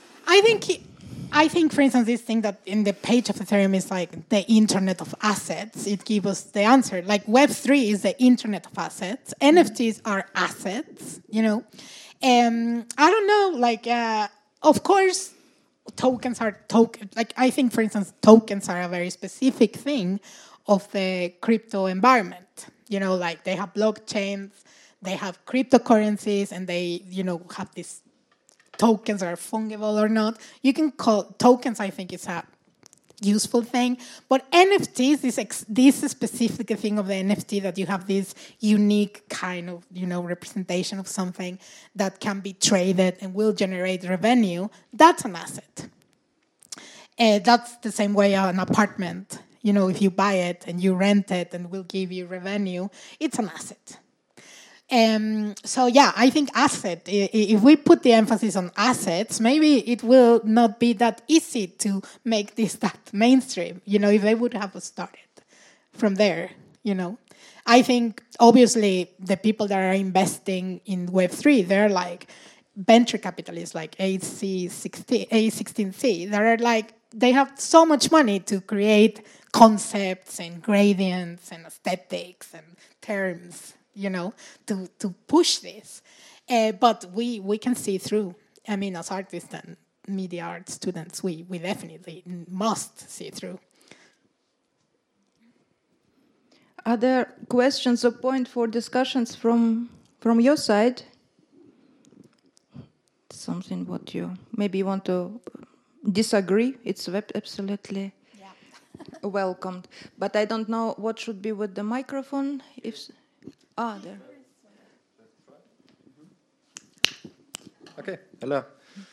S2: I think, for instance, this thing that in the page of Ethereum is like the internet of assets, it gives us the answer. Like Web3 is the internet of assets. NFTs are assets, I don't know, like, of course, tokens are like I think, for instance, tokens are a very specific thing of the crypto environment. Like they have blockchains, they have cryptocurrencies, and they, have these tokens that are fungible or not. You can call tokens, I think, is a useful thing. But NFTs, this specific thing of the NFT, that you have this unique kind of, representation of something that can be traded and will generate revenue, that's an asset. That's the same way an apartment, if you buy it and you rent it and will give you revenue, it's an asset. So yeah, I think asset, if we put the emphasis on assets, maybe it will not be that easy to make this that mainstream, if they would have started from there, I think, obviously, the people that are investing in Web3, they're like venture capitalists like A16Z, that are like, they have so much money to create concepts and gradients and aesthetics and terms, to push this. But we can see through. I mean, as artists and media art students, we definitely must see through.
S1: Are there questions or points for discussions from your side? Something what you maybe want to disagree? It's absolutely welcomed. But I don't know what should be with the microphone. There.
S3: Okay, hello.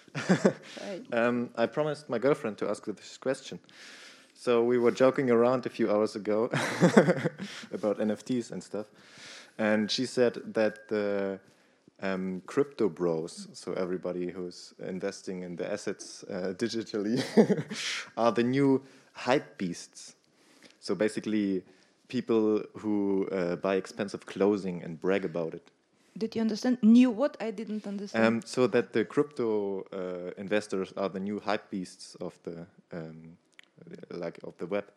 S3: I promised my girlfriend to ask this question. So we were joking around a few hours ago about NFTs and stuff. And she said that the crypto bros, so everybody who's investing in the assets digitally, are the new hype beasts. So basically, people who buy expensive clothing and brag about it.
S1: Did you understand? New what? I didn't understand.
S3: So that the crypto investors are the new hype beasts of the of the web.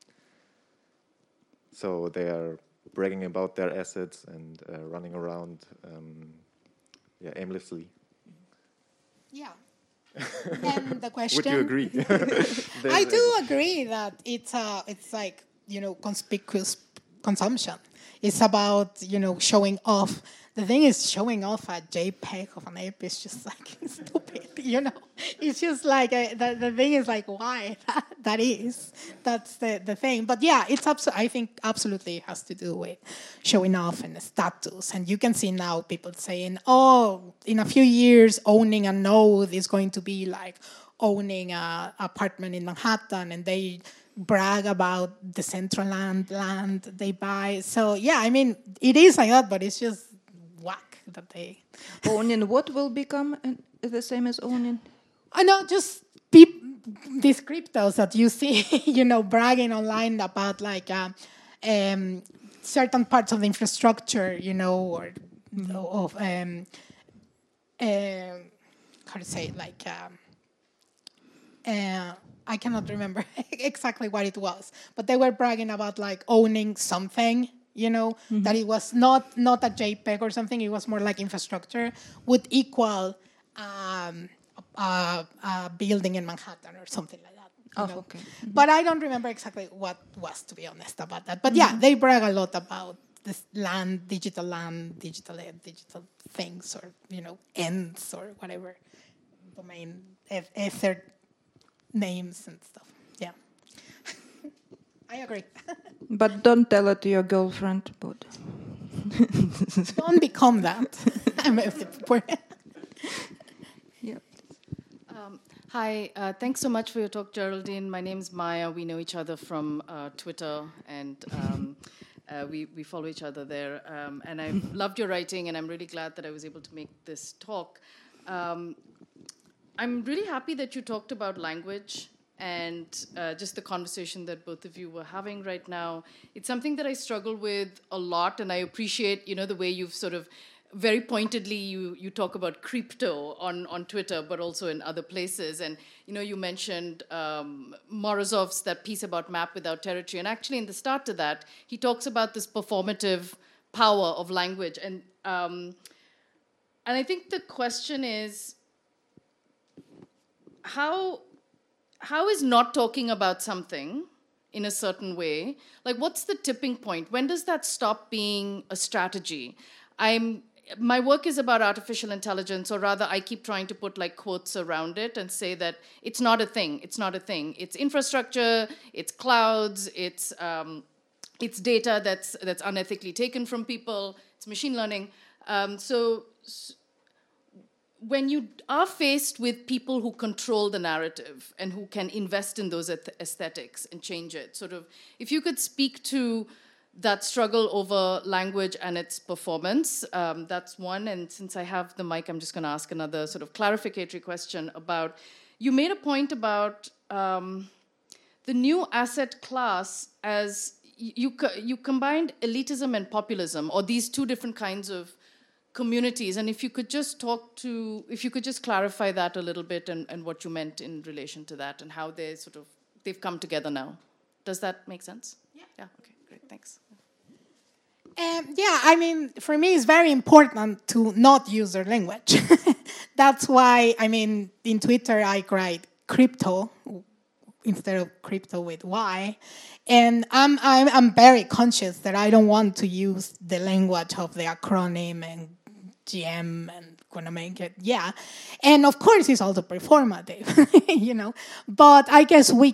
S3: So they are bragging about their assets and running around aimlessly.
S2: Yeah. And the question.
S3: Would you agree?
S2: I do agree that it's like, conspicuous consumption. It's about, showing off. The thing is, showing off a JPEG of an ape is just like stupid, It's just like, the thing is like, why? That's the thing. But yeah, I think absolutely has to do with showing off and status. And you can see now people saying, oh, in a few years, owning a node is going to be like owning an apartment in Manhattan, and they brag about the central land they buy. So yeah, I mean, it is like that, but it's just whack that they...
S1: Owning what will become the same as owning?
S2: I know, just these cryptos that you see, bragging online about like certain parts of the infrastructure, or of how to say it, like I cannot remember exactly what it was, but they were bragging about like owning something, that it was not a JPEG or something. It was more like infrastructure would equal a building in Manhattan or something like that.
S1: Okay. Mm-hmm.
S2: But I don't remember exactly what was, to be honest, about that. But yeah, they brag a lot about this digital things, or ends or whatever, domain, ether names and stuff. Yeah. I agree.
S1: But don't tell it to your girlfriend. But
S2: don't become that.
S1: Yeah.
S4: Hi, thanks so much for your talk, Geraldine. My name's Maya. We know each other from Twitter, and we follow each other there. And I've loved your writing, and I'm really glad that I was able to make this talk. I'm really happy that you talked about language and just the conversation that both of you were having right now. It's something that I struggle with a lot, and I appreciate, the way you've sort of very pointedly you talk about crypto on Twitter, but also in other places. And, you mentioned Morozov's, that piece about map without territory. And actually in the start to that, he talks about this performative power of language. And I think the question is, how is not talking about something in a certain way, like what's the tipping point? When does that stop being a strategy? My work is about artificial intelligence, or rather I keep trying to put like quotes around it and say that it's not a thing. It's not a thing. It's infrastructure, it's clouds, it's data that's unethically taken from people, it's machine learning. So when you are faced with people who control the narrative and who can invest in those aesthetics and change it, sort of, if you could speak to that struggle over language and its performance, that's one. And since I have the mic, I'm just going to ask another sort of clarificatory question about, you made a point about the new asset class as you combined elitism and populism, or these two different kinds of communities. And if you could just clarify that a little bit, and what you meant in relation to that, and how they've come together now. Does that make sense? Yeah. Okay, great, thanks.
S2: Yeah, I mean, for me, it's very important to not use their language. That's why, I mean, in Twitter, I write crypto instead of crypto with Y. And I'm very conscious that I don't want to use the language of the acronym and GM and gonna make it, yeah. And of course, it's also performative, But I guess we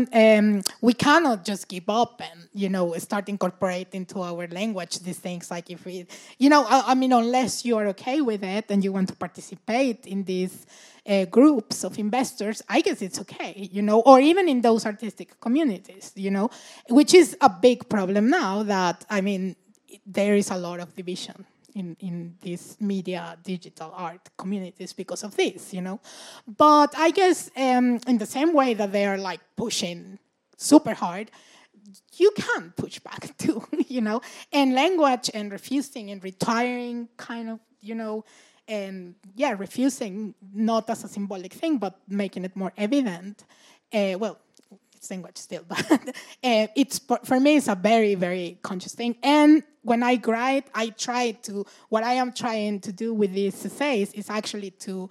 S2: cannot just give up and, start incorporating into our language these things. Like if we, I mean, unless you are okay with it and you want to participate in these groups of investors, I guess it's okay, or even in those artistic communities, which is a big problem now that, I mean, there is a lot of division in these media, digital art communities because of this, But I guess in the same way that they are like pushing super hard, you can push back too, And language and refusing and retiring kind of, and refusing not as a symbolic thing, but making it more evident. It's language still, but for me, it's a very, very conscious thing. And when I write, what I am trying to do with these essays is actually to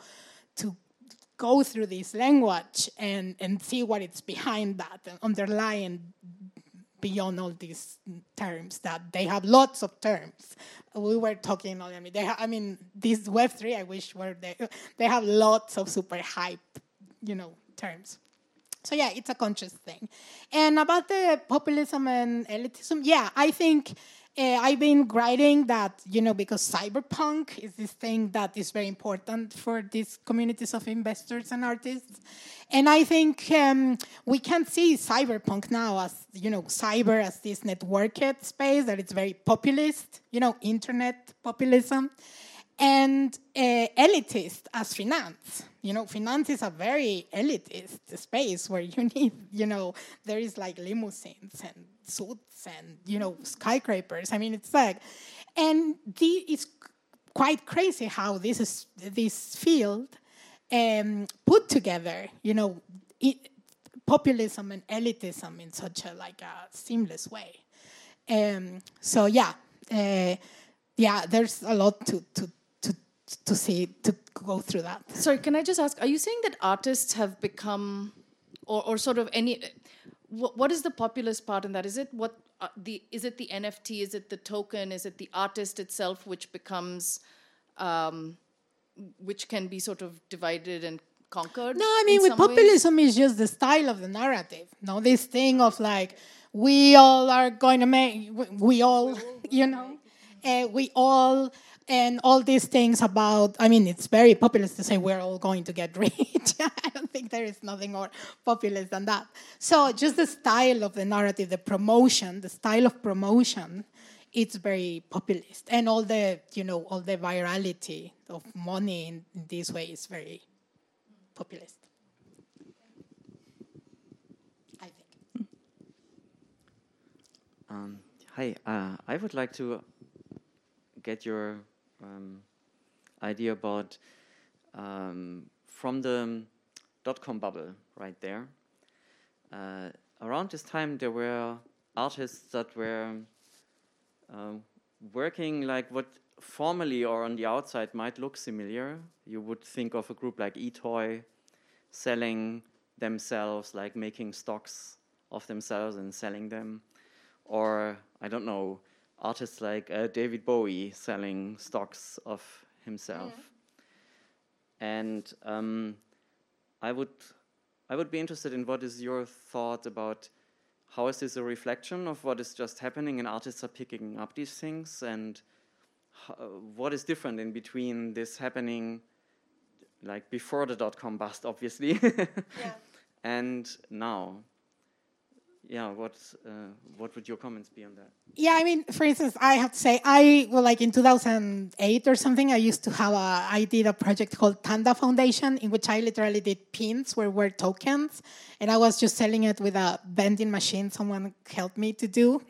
S2: go through this language and see what it's behind that, and underlying beyond all these terms, that they have lots of terms. We were talking, this Web3, I wish they have lots of super hype, terms. So yeah, it's a conscious thing. And about the populism and elitism, yeah, I think I've been writing that, because cyberpunk is this thing that is very important for these communities of investors and artists. And I think we can see cyberpunk now as, cyber as this networked space that it's very populist, internet populism. And elitist as finance. Finance is a very elitist space where you need, there is like limousines and suits and, skyscrapers. I mean, it's like, and it's quite crazy how this field put together, populism and elitism in such a seamless way. So yeah, there's a lot to see, to go through that.
S4: Sorry, can I just ask, are you saying that artists have become, or sort of any, what is the populist part in that? Is it is it the NFT, is it the token, is it the artist itself which becomes, which can be sort of divided and conquered?
S2: No, I mean, with populism is just the style of the narrative. This thing of we all are going to make, we all, we all, and all these things about, it's very populist to say we're all going to get rich. I don't think there is nothing more populist than that. So just the style of the narrative, the style of promotion, it's very populist. And all the, all the virality of money in this way is very populist, I think.
S5: Hi, I would like to get your idea about from the .com bubble right there. Around this time, there were artists that were working like what formally or on the outside might look similar. You would think of a group like eToy selling themselves, like making stocks of themselves and selling them. Or, I don't know, artists like David Bowie selling stocks of himself. And I would be interested in what is your thought about how is this a reflection of what is just happening and artists are picking up these things, and what is different in between this happening like before the .com bust, obviously, and now? Yeah, what would your comments be on that?
S2: Yeah, for instance, I have to say, in 2008 or something, I did a project called Tanda Foundation, in which I literally did pins where were tokens, and I was just selling it with a vending machine someone helped me to do.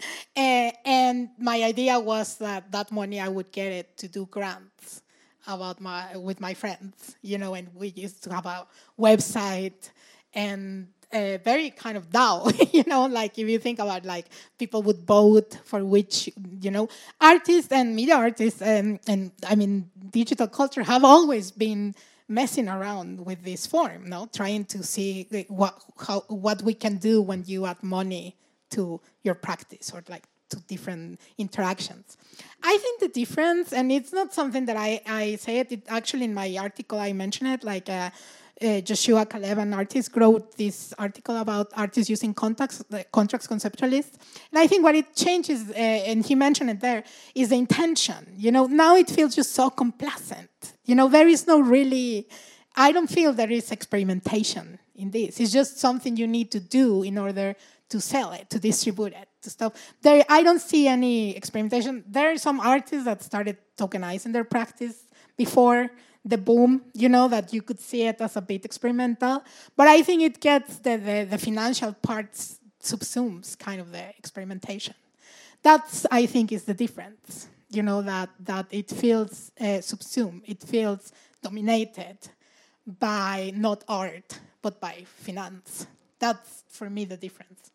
S2: And my idea was that money I would get it to do grants with my friends, and we used to have a website and very kind of DAO, if you think about people would vote for which, artists and media artists and digital culture have always been messing around with this form, trying to see what we can do when you add money to your practice or to different interactions. I think the difference, and it's not something that I say it actually in my article I mention it, Joshua Caleb, an artist, wrote this article about artists using contracts conceptualists. And I think what it changes, and he mentioned it there, is the intention. Now it feels just so complacent. There is no really, I don't feel there is experimentation in this. It's just something you need to do in order to sell it, to distribute it, to stuff. I don't see any experimentation. There are some artists that started tokenizing their practice before the boom, that you could see it as a bit experimental. But I think it gets the financial parts subsumes kind of the experimentation. That's, I think, is the difference, that it feels subsumed. It feels dominated by not art, but by finance. That's, for me, the difference.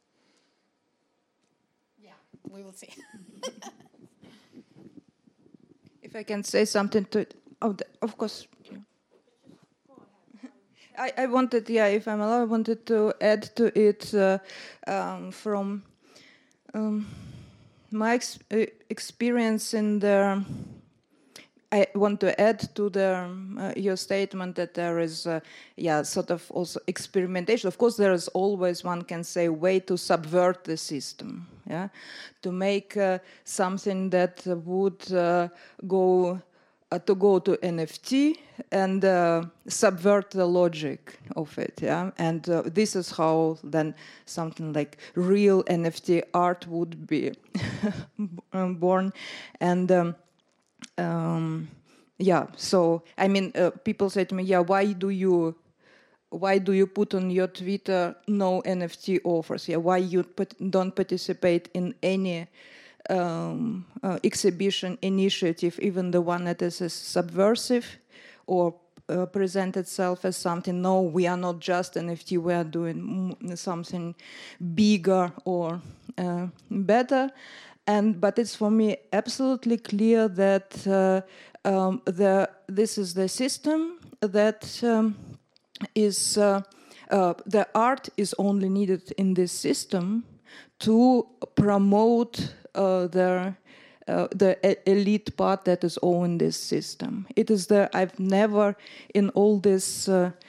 S2: Yeah, we will see.
S1: If I can say something to it. Oh, of course. I wanted, if I'm allowed, I wanted to add to it from My experience in the, I want to add to the your statement that there is, sort of also experimentation. Of course, there is always, one can say, way to subvert the system, to make something that would go to NFT and subvert the logic of it, and this is how then something like real NFT art would be born, and so I mean, people say to me, why do you put on your Twitter no NFT offers? Why you don't participate in any exhibition initiative, even the one that is subversive or present itself as something? No, we are not just NFT, we are doing something bigger or better. But it's for me absolutely clear that this is the system that is the art is only needed in this system to promote the elite part that is own this system. It is I've never in all this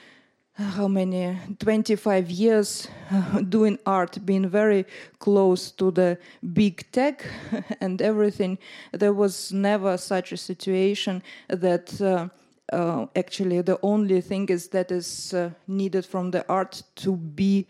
S1: 25 years doing art, been very close to the big tech and everything. There was never such a situation that actually the only thing that is needed from the art to be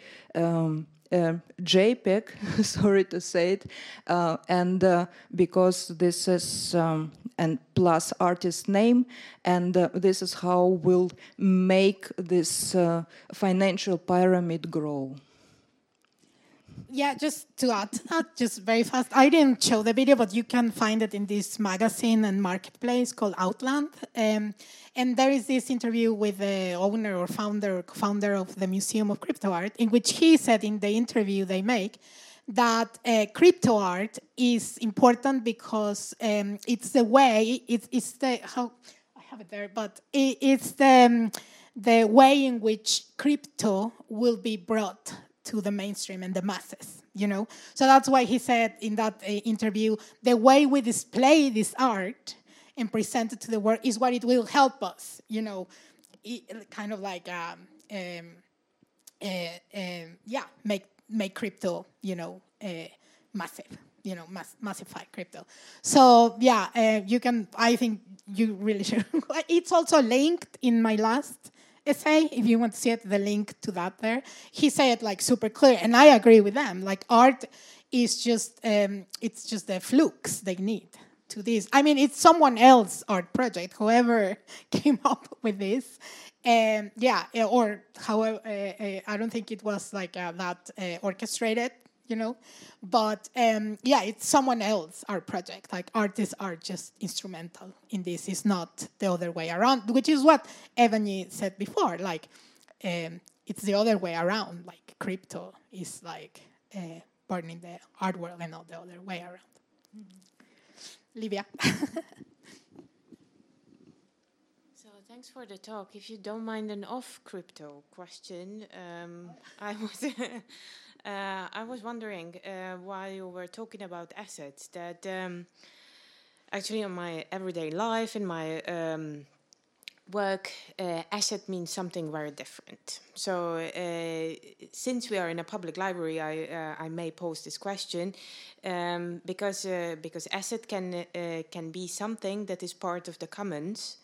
S1: JPEG, sorry to say it, and because this is and plus artist name, and this is how we'll make this financial pyramid grow.
S2: Yeah, just to add to that, just very fast. I didn't show the video, but you can find it in this magazine and marketplace called Outland. And there is this interview with the owner or founder of the Museum of Crypto Art, in which he said in the interview they make that crypto art is important because it's the way, it's the, how, I have it there, but it's the way in which crypto will be brought to the mainstream and the masses, you know? So that's why he said in that interview, the way we display this art and present it to the world is what it will help us, you know, kind of like, make crypto, you know, massive, you know, massify crypto. So, you can, I think you really should. It's also linked in my last essay, if you want to see it, the link to that there. He said like super clear, and I agree with them. Like art is just, it's just the flukes they need to this. I mean, it's someone else's art project, whoever came up with this. Or however, I don't think it was like that orchestrated, you know. But it's someone else's art project. Like artists are just instrumental in this. It's not the other way around, which is what Evgeny said before. Like it's the other way around. Like crypto is like burning the art world and not the other way around. Mm-hmm. Livia.
S6: Thanks for the talk. If you don't mind an off-crypto question, I was wondering while you were talking about assets that actually in my everyday life, in my work, asset means something very different. So since we are in a public library, I may pose this question because asset can be something that is part of the commons.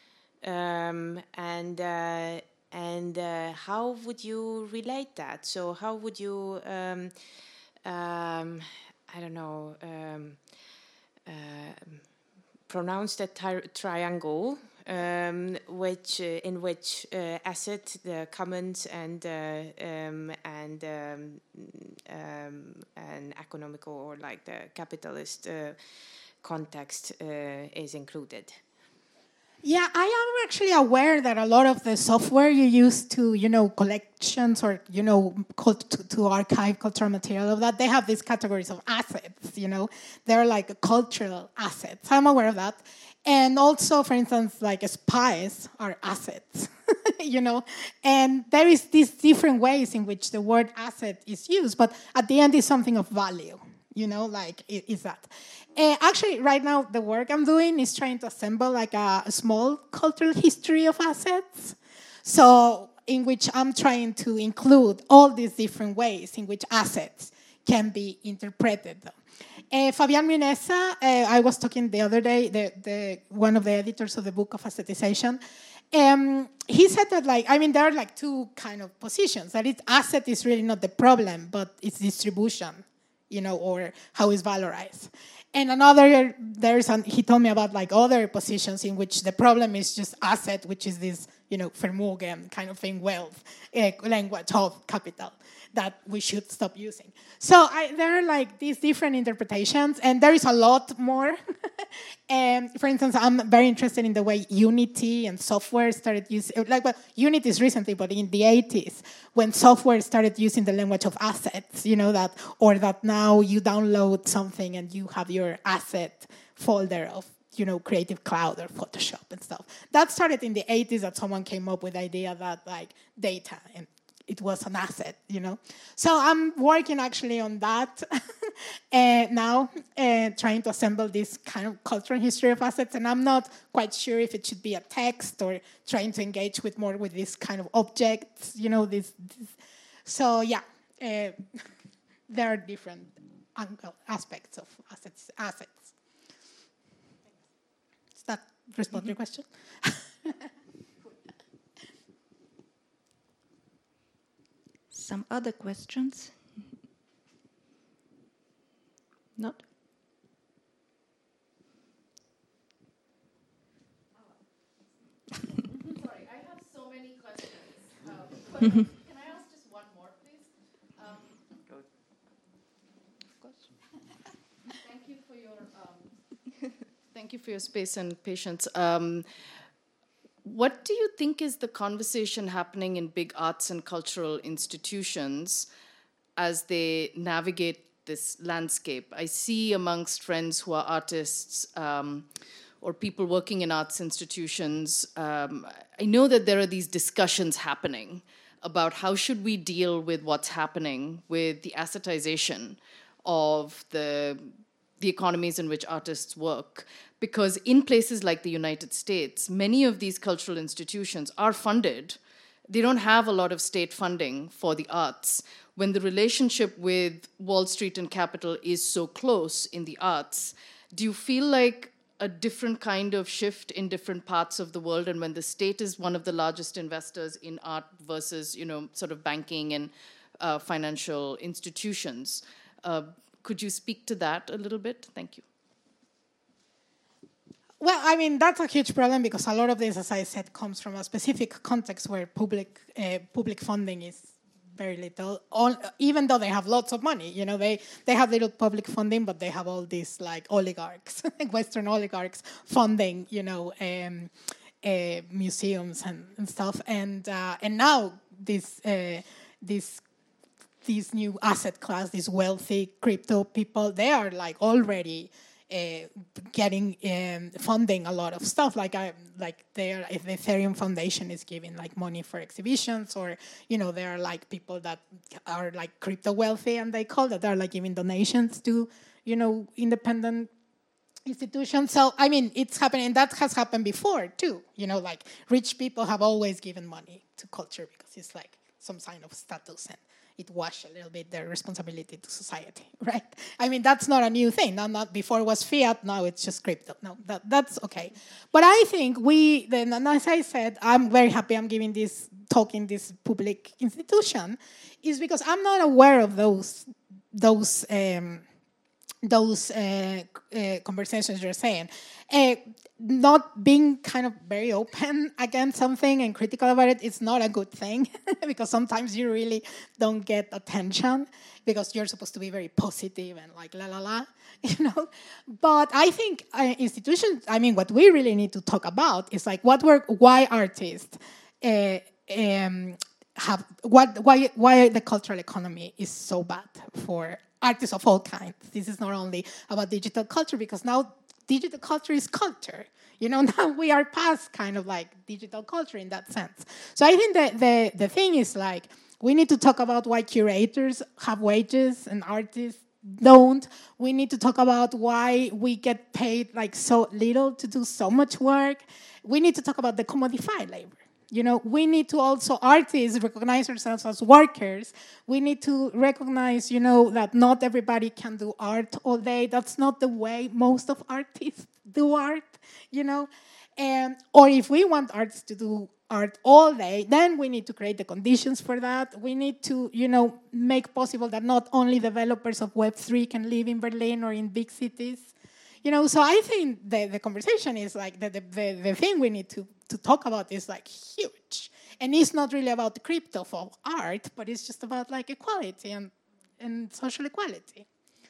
S6: And how would you relate that? So how would you, pronounce that triangle, in which asset, the commons, and an economical or like the capitalist context is included?
S2: Yeah, I am actually aware that a lot of the software you use to, you know, collections or, you know, to archive cultural material of that, they have these categories of assets, you know. They're like cultural assets. I'm aware of that. And also, for instance, like spies are assets, you know. And there is these different ways in which the word asset is used, but at the end it's something of value, Like is that. Actually, right now, the work I'm doing is trying to assemble like a small cultural history of assets. So in which I'm trying to include all these different ways in which assets can be interpreted. Fabian Minesa, I was talking the other day, one of the editors of the book of Assetization, he said that, there are like two kind of positions. That asset is really not the problem, but its distribution, or how it's valorized. And another, he told me about like other positions in which the problem is just asset, which is this, Vermögen kind of thing, wealth, language of capital that we should stop using. So there are like these different interpretations, and there is a lot more. For instance, I'm very interested in the way Unity and software started using, Unity is recently, but in the 80s, when software started using the language of assets, that now you download something and you have your asset folder of, Creative Cloud or Photoshop and stuff. That started in the 80s, that someone came up with the idea that like data and it was an asset, So I'm working actually on that now, trying to assemble this kind of cultural history of assets. And I'm not quite sure if it should be a text or trying to engage more with this kind of objects, So yeah, there are different aspects of assets. Does that respond to your question?
S1: Some other questions? Not?
S4: Sorry, I have so many questions. Can I ask just one more, please?
S5: Go.
S4: Of course. Thank you for your space and patience. What do you think is the conversation happening in big arts and cultural institutions as they navigate this landscape? I see amongst friends who are artists or people working in arts institutions, I know that there are these discussions happening about how should we deal with what's happening with the assetization of the economies in which artists work. Because in places like the United States, many of these cultural institutions are funded. They don't have a lot of state funding for the arts. When the relationship with Wall Street and capital is so close in the arts, do you feel like a different kind of shift in different parts of the world? And when the state is one of the largest investors in art versus, sort of banking and financial institutions, could you speak to that a little bit? Thank you.
S2: Well, that's a huge problem because a lot of this, as I said, comes from a specific context where public funding is very little. Even though they have lots of money, they have little public funding, but they have all these like oligarchs, Western oligarchs funding, museums and stuff. And now this new asset class, these wealthy crypto people, they are like already getting funding a lot of stuff. If the Ethereum Foundation is giving like money for exhibitions, or there are like people that are like crypto wealthy, and they call that they're like giving donations to independent institutions. So it's happening, and that has happened before too. Like rich people have always given money to culture because it's like some sign of status, and it washed a little bit their responsibility to society, right? That's not a new thing. Not before it was fiat, now it's just crypto. No, that's okay. But I think and as I said, I'm very happy I'm giving this talk in this public institution, is because I'm not aware of those conversations you're saying. Not being kind of very open against something and critical about it is not a good thing because sometimes you really don't get attention because you're supposed to be very positive and like la la la, But I think institutions, what we really need to talk about is like why artists why the cultural economy is so bad for artists of all kinds. This is not only about digital culture, because now digital culture is culture. Now we are past kind of like digital culture in that sense. So I think that the thing is like, we need to talk about why curators have wages and artists don't. We need to talk about why we get paid like so little to do so much work. We need to talk about the commodified labor. You know, we need to also, artists, recognize ourselves as workers. We need to recognize, you know, that not everybody can do art all day. That's not the way most of artists do art, you know. Or if we want artists to do art all day, then we need to create the conditions for that. We need to, you know, make possible that not only developers of Web3 can live in Berlin or in big cities. You know, so I think the conversation is like the thing we need to talk about is like huge. And it's not really about the crypto for art, but it's just about like equality and social equality.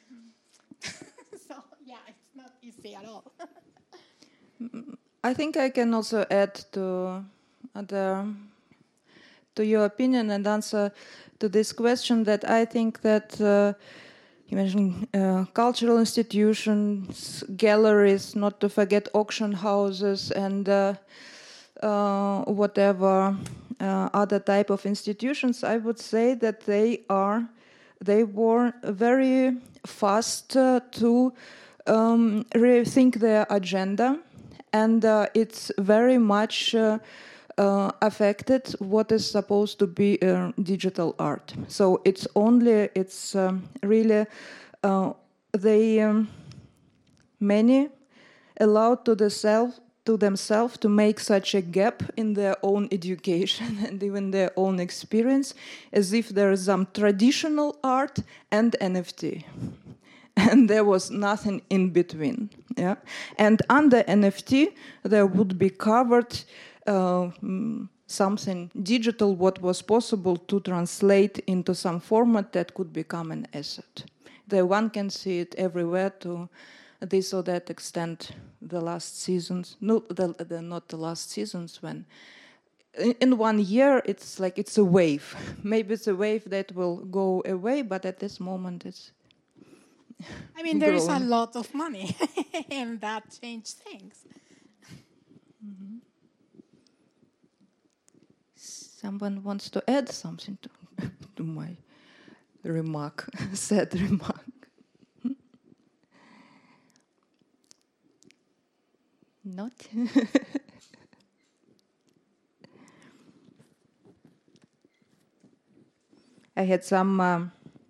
S2: So yeah, it's not easy at all.
S1: I think I can also add to your opinion and answer to this question that I think that you mentioned cultural institutions, galleries, not to forget auction houses and whatever other type of institutions. I would say that they were very fast to rethink their agenda, and it's very much affected what is supposed to be digital art. So it's really they many allowed to themselves to make such a gap in their own education and even their own experience, as if there is some traditional art and NFT. And there was nothing in between. Yeah? And under NFT, there would be covered something digital, what was possible to translate into some format that could become an asset. One can see it everywhere to this or that extent. The last seasons, not the last seasons, when in 1 year it's like it's a wave. Maybe it's a wave that will go away, but at this moment it's.
S2: I mean, there is a lot of money, and that changed things.
S1: Mm-hmm. Someone wants to add something to my remark, sad remark. Not? I had some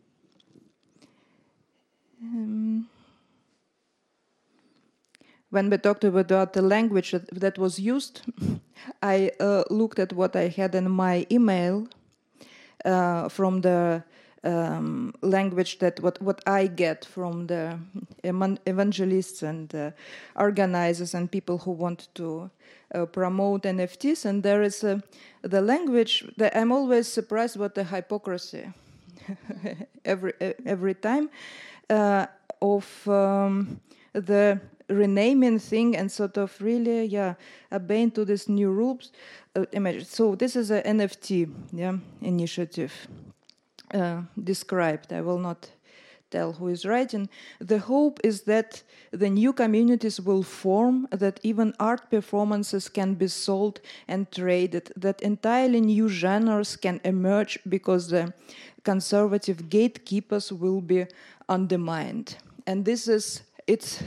S1: when we talked about the language that was used, I looked at what I had in my email from the language that what I get from the evangelists and organizers and people who want to promote NFTs, and there is the language that I'm always surprised about the hypocrisy every time of the renaming thing and sort of really obeying to these new rules. So this is an NFT initiative. Described. I will not tell who is writing. The hope is that the new communities will form, that even art performances can be sold and traded, that entirely new genres can emerge because the conservative gatekeepers will be undermined. And this is it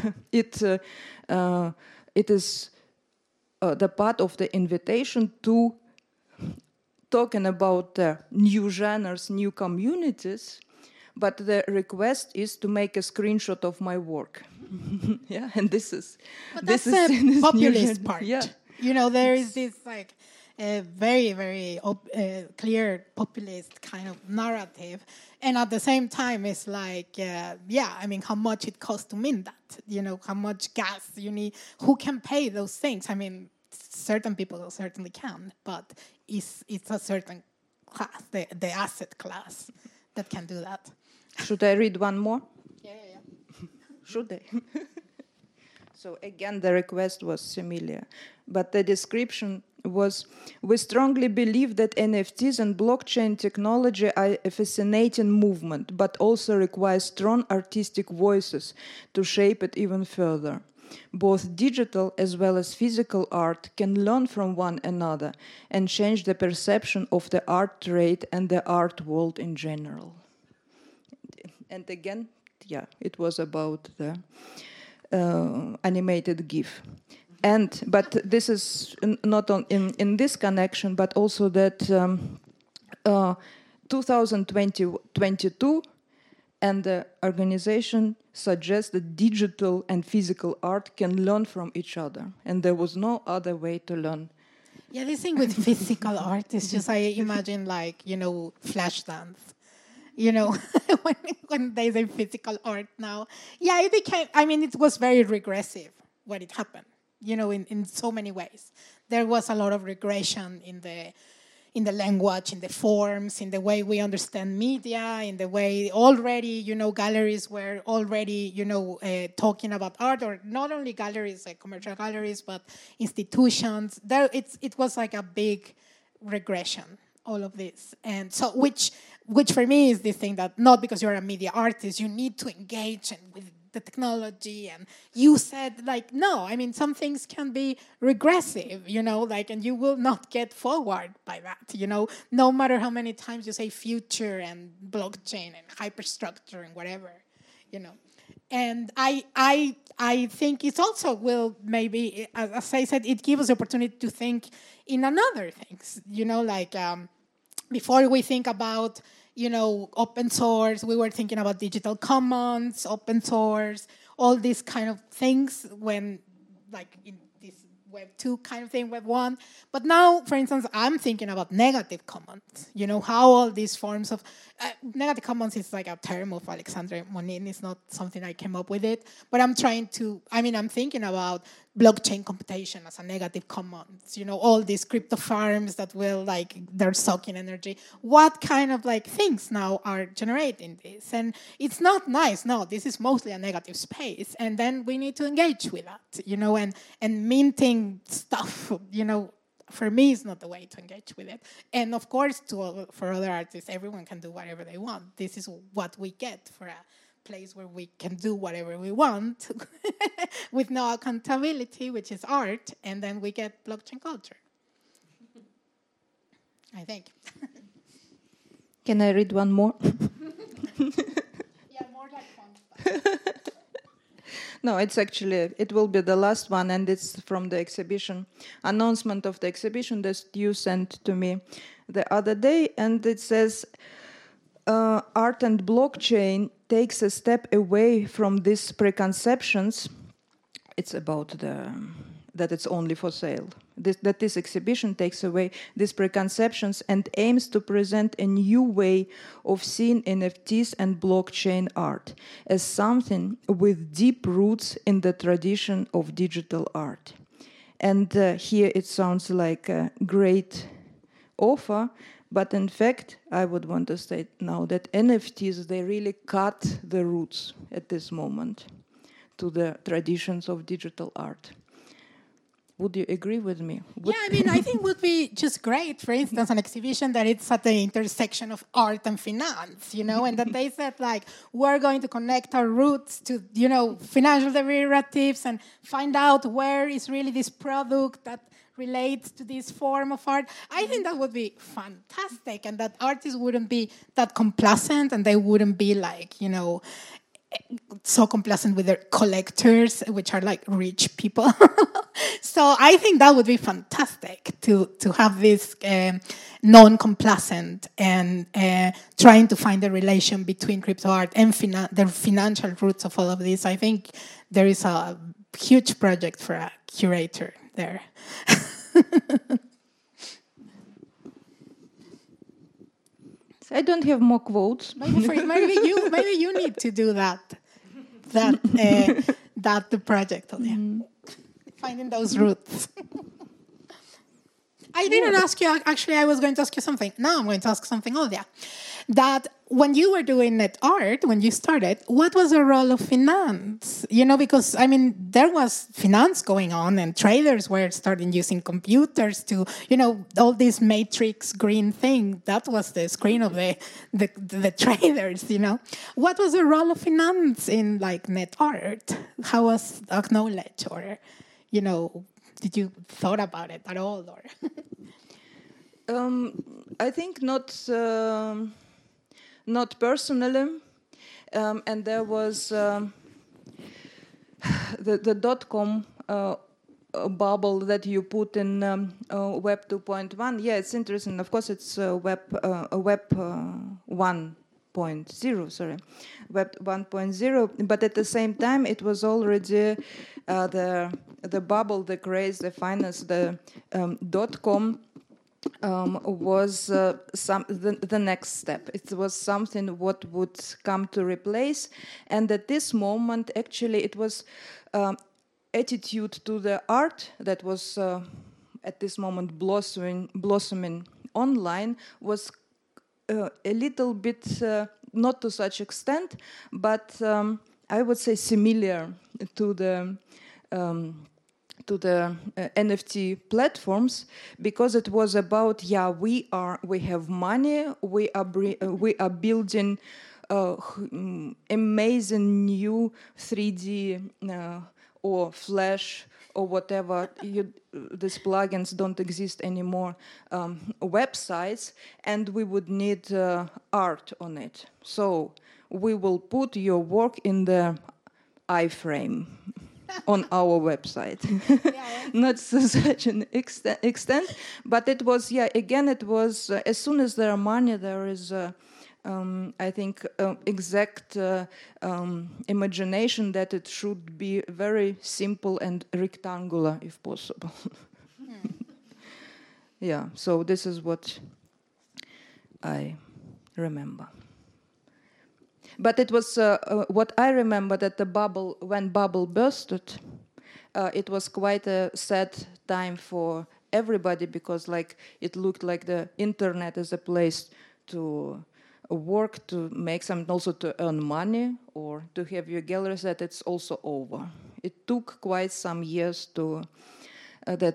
S1: is the part of the invitation to talking about new genres, new communities, but the request is to make a screenshot of my work. Yeah, and this is
S2: the populist part.
S1: Yeah,
S2: you know, there is this like very, very clear populist kind of narrative, and at the same time, it's like, I mean, how much it costs to mint that? You know, how much gas you need? Who can pay those things? I mean, certain people certainly can, but it's a certain class, the asset class, that can do that.
S1: Should I read one more?
S2: Yeah.
S1: Should I? So again, the request was similar, but the description was, we strongly believe that NFTs and blockchain technology are a fascinating movement, but also require strong artistic voices to shape it even further. Both digital as well as physical art can learn from one another and change the perception of the art trade and the art world in general. And again, yeah, it was about the animated GIF. But this is not in this connection, but also that 2022 and the organization suggests that digital and physical art can learn from each other, and there was no other way to learn.
S2: Yeah, this thing with physical art is just, I imagine, like, flash dance. When they say physical art now. Yeah, it became, it was very regressive when it happened, in so many ways. There was a lot of regression in the language, in the forms, in the way we understand media, in the way already, galleries were already, talking about art, or not only galleries, like commercial galleries, but institutions. It was like a big regression, all of this. And so, which for me is this thing that not because you're a media artist, you need to engage with the technology, and you said, like, no, some things can be regressive, and you will not get forward by that, no matter how many times you say future and blockchain and hyperstructure and whatever, And I think it also will maybe, as I said, it gives us the opportunity to think in another things, before we think about open source, we were thinking about digital commons, open source, all these kind of things when, like, in this Web 2 kind of thing, Web 1. But now, for instance, I'm thinking about negative commons, how all these forms of... negative commons is like a term of Alexandre Monin. It's not something I came up with it. But I'm thinking about blockchain computation as a negative commons, all these crypto farms that will, they're sucking energy. What kind of, things now are generating this? And it's not nice. No, this is mostly a negative space. And then we need to engage with that, and minting stuff, for me, it's not the way to engage with it. And of course, for other artists, everyone can do whatever they want. This is what we get for a place where we can do whatever we want with no accountability, which is art, and then we get blockchain culture. I think.
S1: Can I read one more?
S2: Yeah, more like fun stuff.
S1: No, it will be the last one, and it's from the exhibition, announcement of the exhibition that you sent to me the other day, and it says, art and blockchain takes a step away from these preconceptions. It's about that it's only for sale. That this exhibition takes away these preconceptions and aims to present a new way of seeing NFTs and blockchain art as something with deep roots in the tradition of digital art. And here it sounds like a great offer, but in fact, I would want to state now that NFTs, they really cut the roots at this moment to the traditions of digital art. Would you agree with me?
S2: Yeah, I think would be just great, for instance, an exhibition that it's at the intersection of art and finance, and that they said, we're going to connect our roots to, financial derivatives and find out where is really this product that relates to this form of art. I think that would be fantastic, and that artists wouldn't be that complacent, and they wouldn't be so complacent with their collectors, which are rich people. So I think that would be fantastic to have this non-complacent and trying to find the relation between crypto art and the financial roots of all of this. I think there is a huge project for a curator there.
S1: I don't have more quotes.
S2: Maybe you need to do that the project. Finding those roots. I didn't ask you. Actually, I was going to ask you something. Now I'm going to ask something, Olya. That when you were doing net art, when you started, what was the role of finance? Because, there was finance going on, and traders were starting using computers to, all this matrix green thing. That was the screen of the traders, What was the role of finance in, net art? How was acknowledged, or, did you thought about it at all, or?
S1: I think not personally, and there was the .com bubble that you put in Web 2.1. Yeah, it's interesting. Of course, it's Web 1.0. Sorry, Web 1.0. But at the same time, it was already the bubble, the craze, the finance, the .com. Was the next step. It was something what would come to replace, and at this moment, actually, it was attitude to the art that was at this moment blossoming online was a little bit not to such extent, but I would say similar to the NFT platforms, because it was about we have money, we are building amazing new 3D or Flash or whatever. These plugins don't exist anymore. Websites, and we would need art on it. So we will put your work in the iframe. On our website. Not to such an extent, but it was, again, it was, as soon as there are money, there is, I think, exact imagination that it should be very simple and rectangular, if possible. Yeah, so this is what I remember. But it was what I remember, that when bubble bursted, it was quite a sad time for everybody, because it looked like the internet as a place to work, to make something, also to earn money or to have your gallery set. It's also over. It took quite some years to that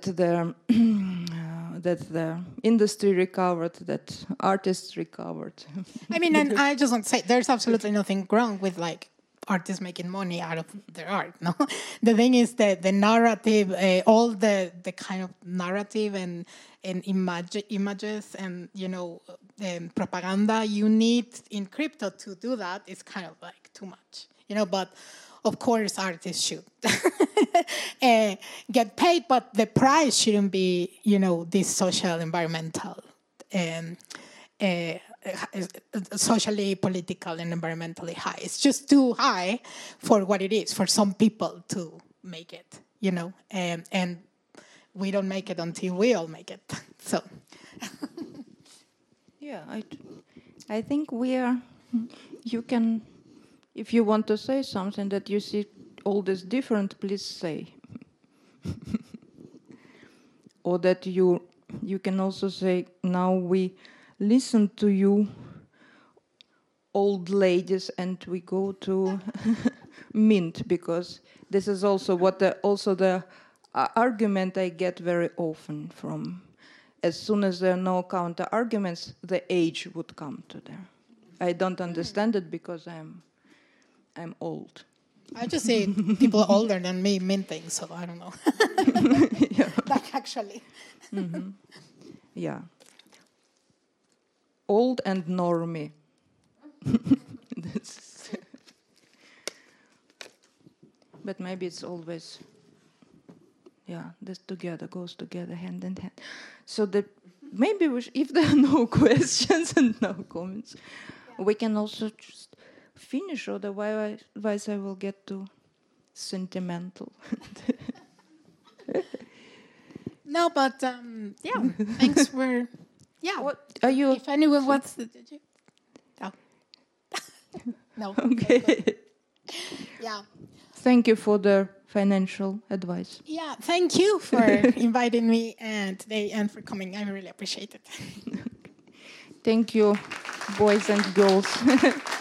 S1: the industry recovered, that artists recovered.
S2: I mean, and I just want to say, there's absolutely nothing wrong with artists making money out of their art. No, the thing is that the narrative, all the kind of narrative and images and propaganda you need in crypto to do that is kind of too much. But of course, artists should get paid, but the price shouldn't be, this social, environmental, socially, political, and environmentally high. It's just too high for what it is, for some people to make it, and we don't make it until we all make it. So,
S1: yeah, I think you can. If you want to say something that you see all this different, please say. Or that you can also say, now we listen to you, old ladies, and we go to Mint, because this is also what the argument I get very often from. As soon as there are no counter arguments, the age would come to there. I don't understand it because I'm old.
S2: I just see people older than me minting, so I don't know.
S1: Yeah.
S2: Actually.
S1: Mm-hmm. Yeah. Old and normie. But maybe it's always, this goes together, hand in hand. So that maybe if there are no questions and no comments, we can also just finish, otherwise I will get too sentimental.
S2: No, but thanks for
S1: What are you?
S2: If anyone wants to, did you? Oh. No.
S1: Okay.
S2: Yeah.
S1: Thank you for the financial advice.
S2: Yeah, thank you for inviting me today and for coming. I really appreciate it.
S1: Thank you, boys and girls.